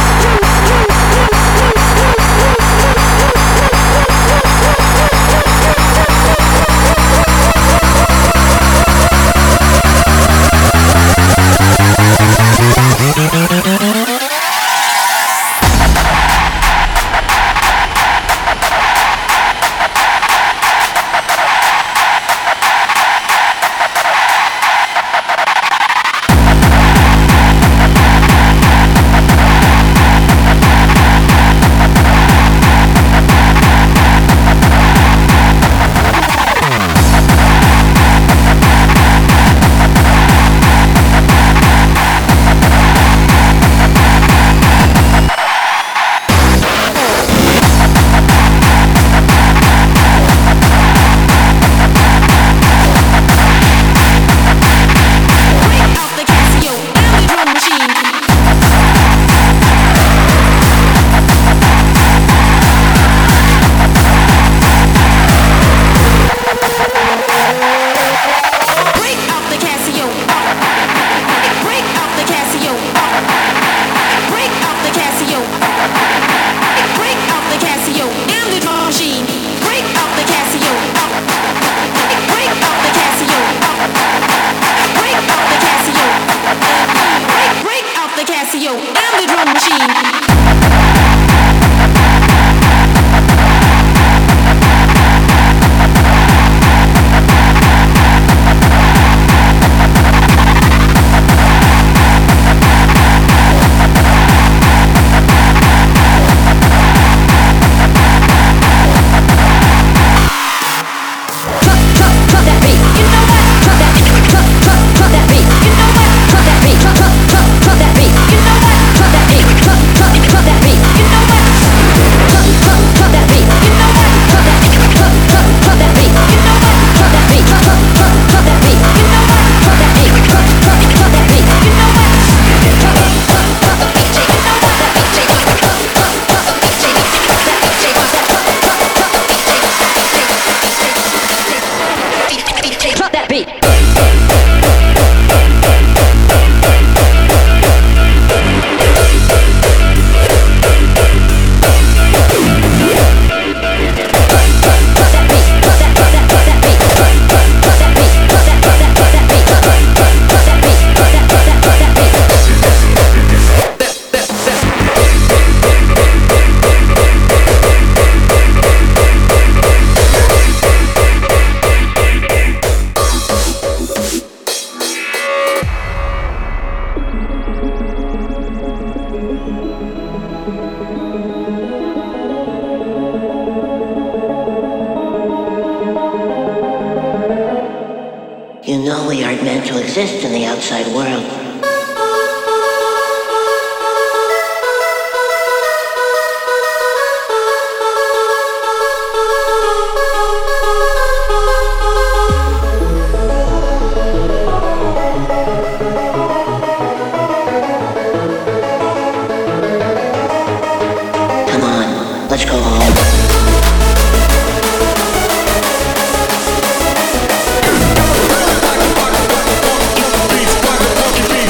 Exist in the outside world. Come on, let's go home. Beats,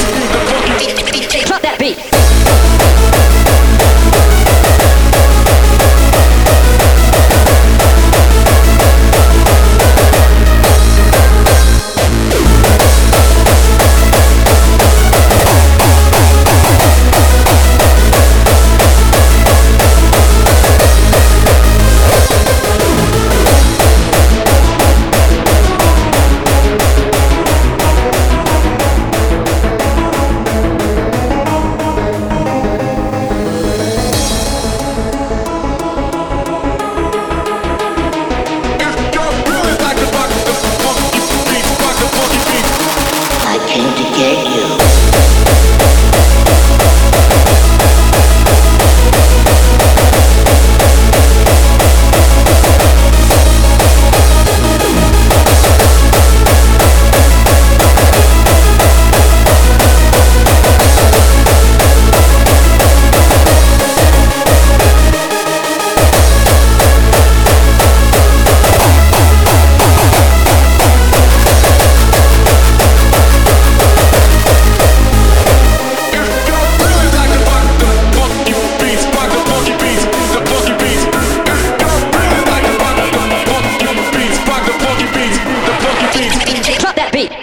beat.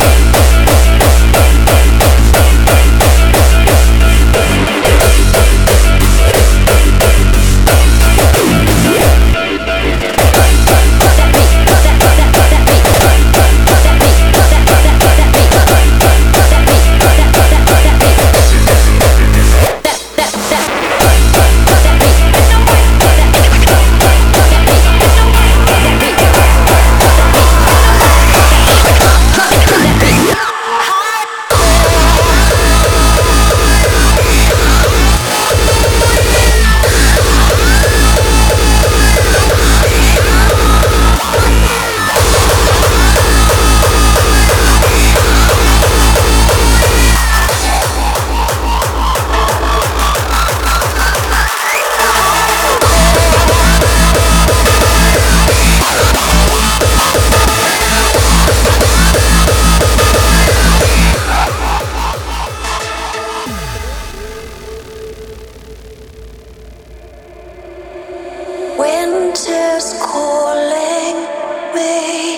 Winter's calling me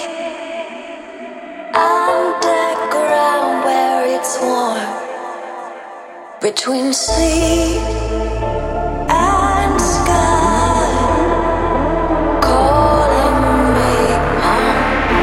underground where it's warm, between sea and sky, calling me home.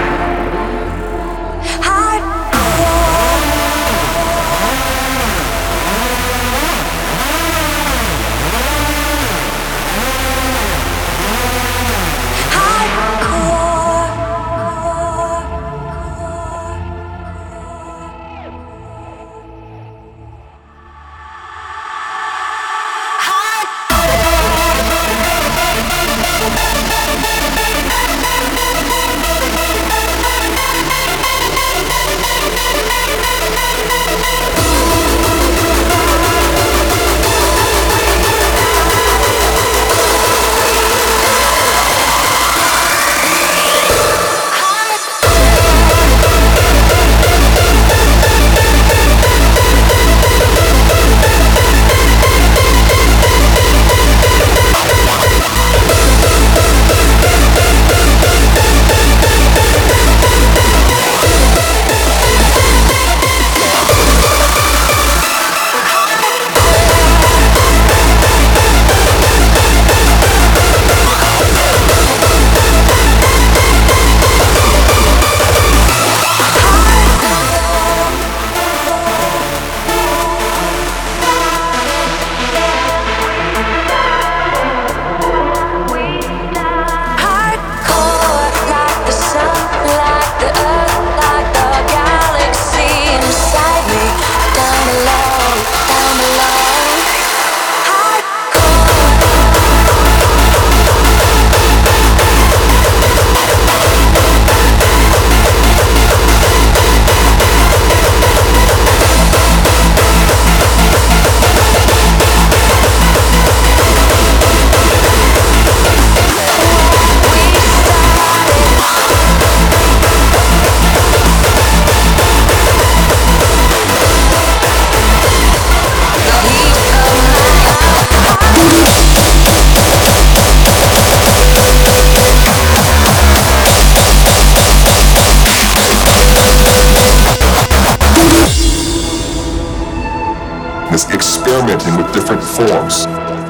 This experimenting with different forms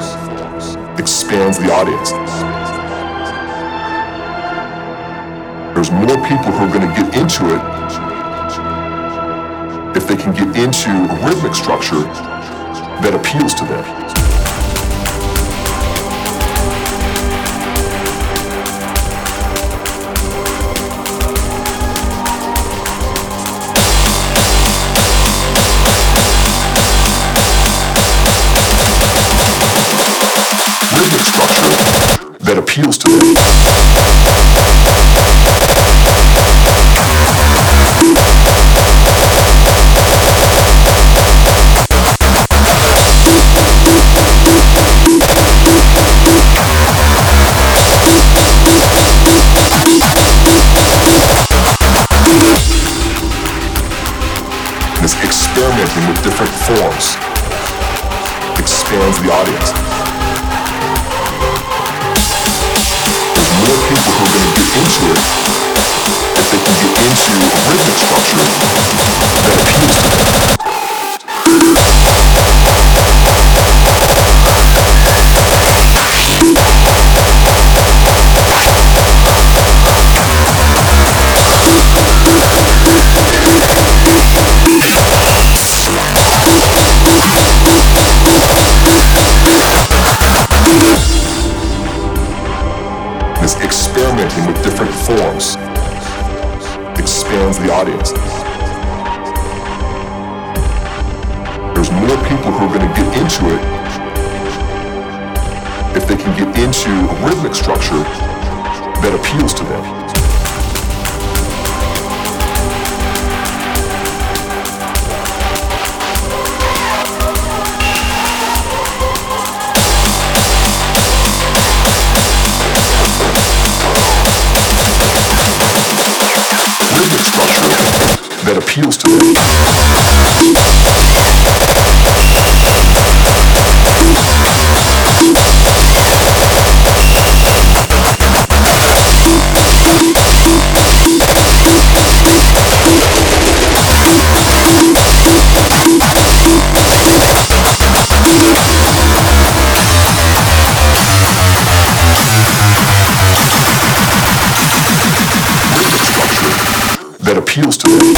expands the audience. There's more people who are going to get into it if they can get into a rhythmic structure that appeals to them. That appeals to them. This experimenting with different forms expands the audience. More people who are going to get into it if they can get into a rhythmic structure that appeals to them. This experimenting with different forms expands the audience. There's more people who are going to get into it if they can get into a rhythmic structure that appeals to them. That appeals to them. That appeals to them.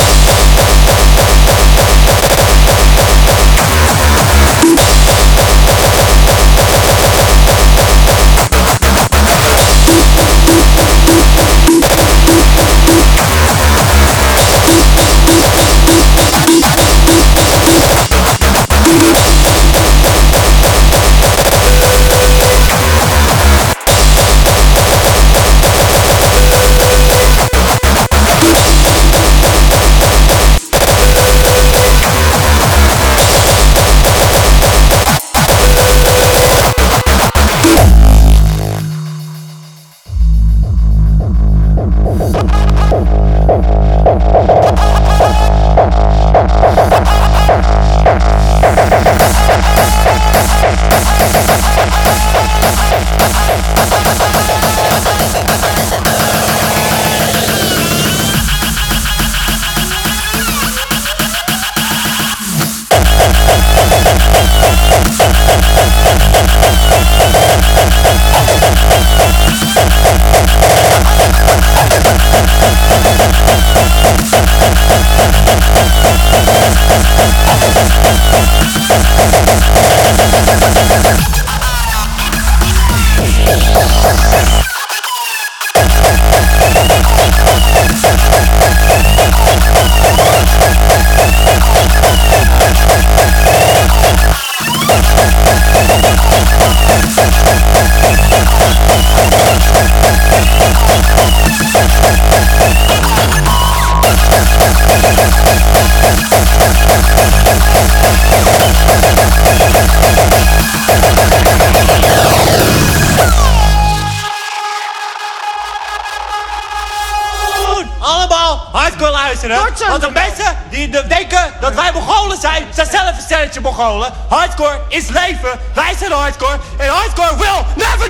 Want de mensen die denken dat wij Mongolen zijn, zijn zelf een stelletje Mongolen. Hardcore is leven, wij zijn hardcore en hardcore will never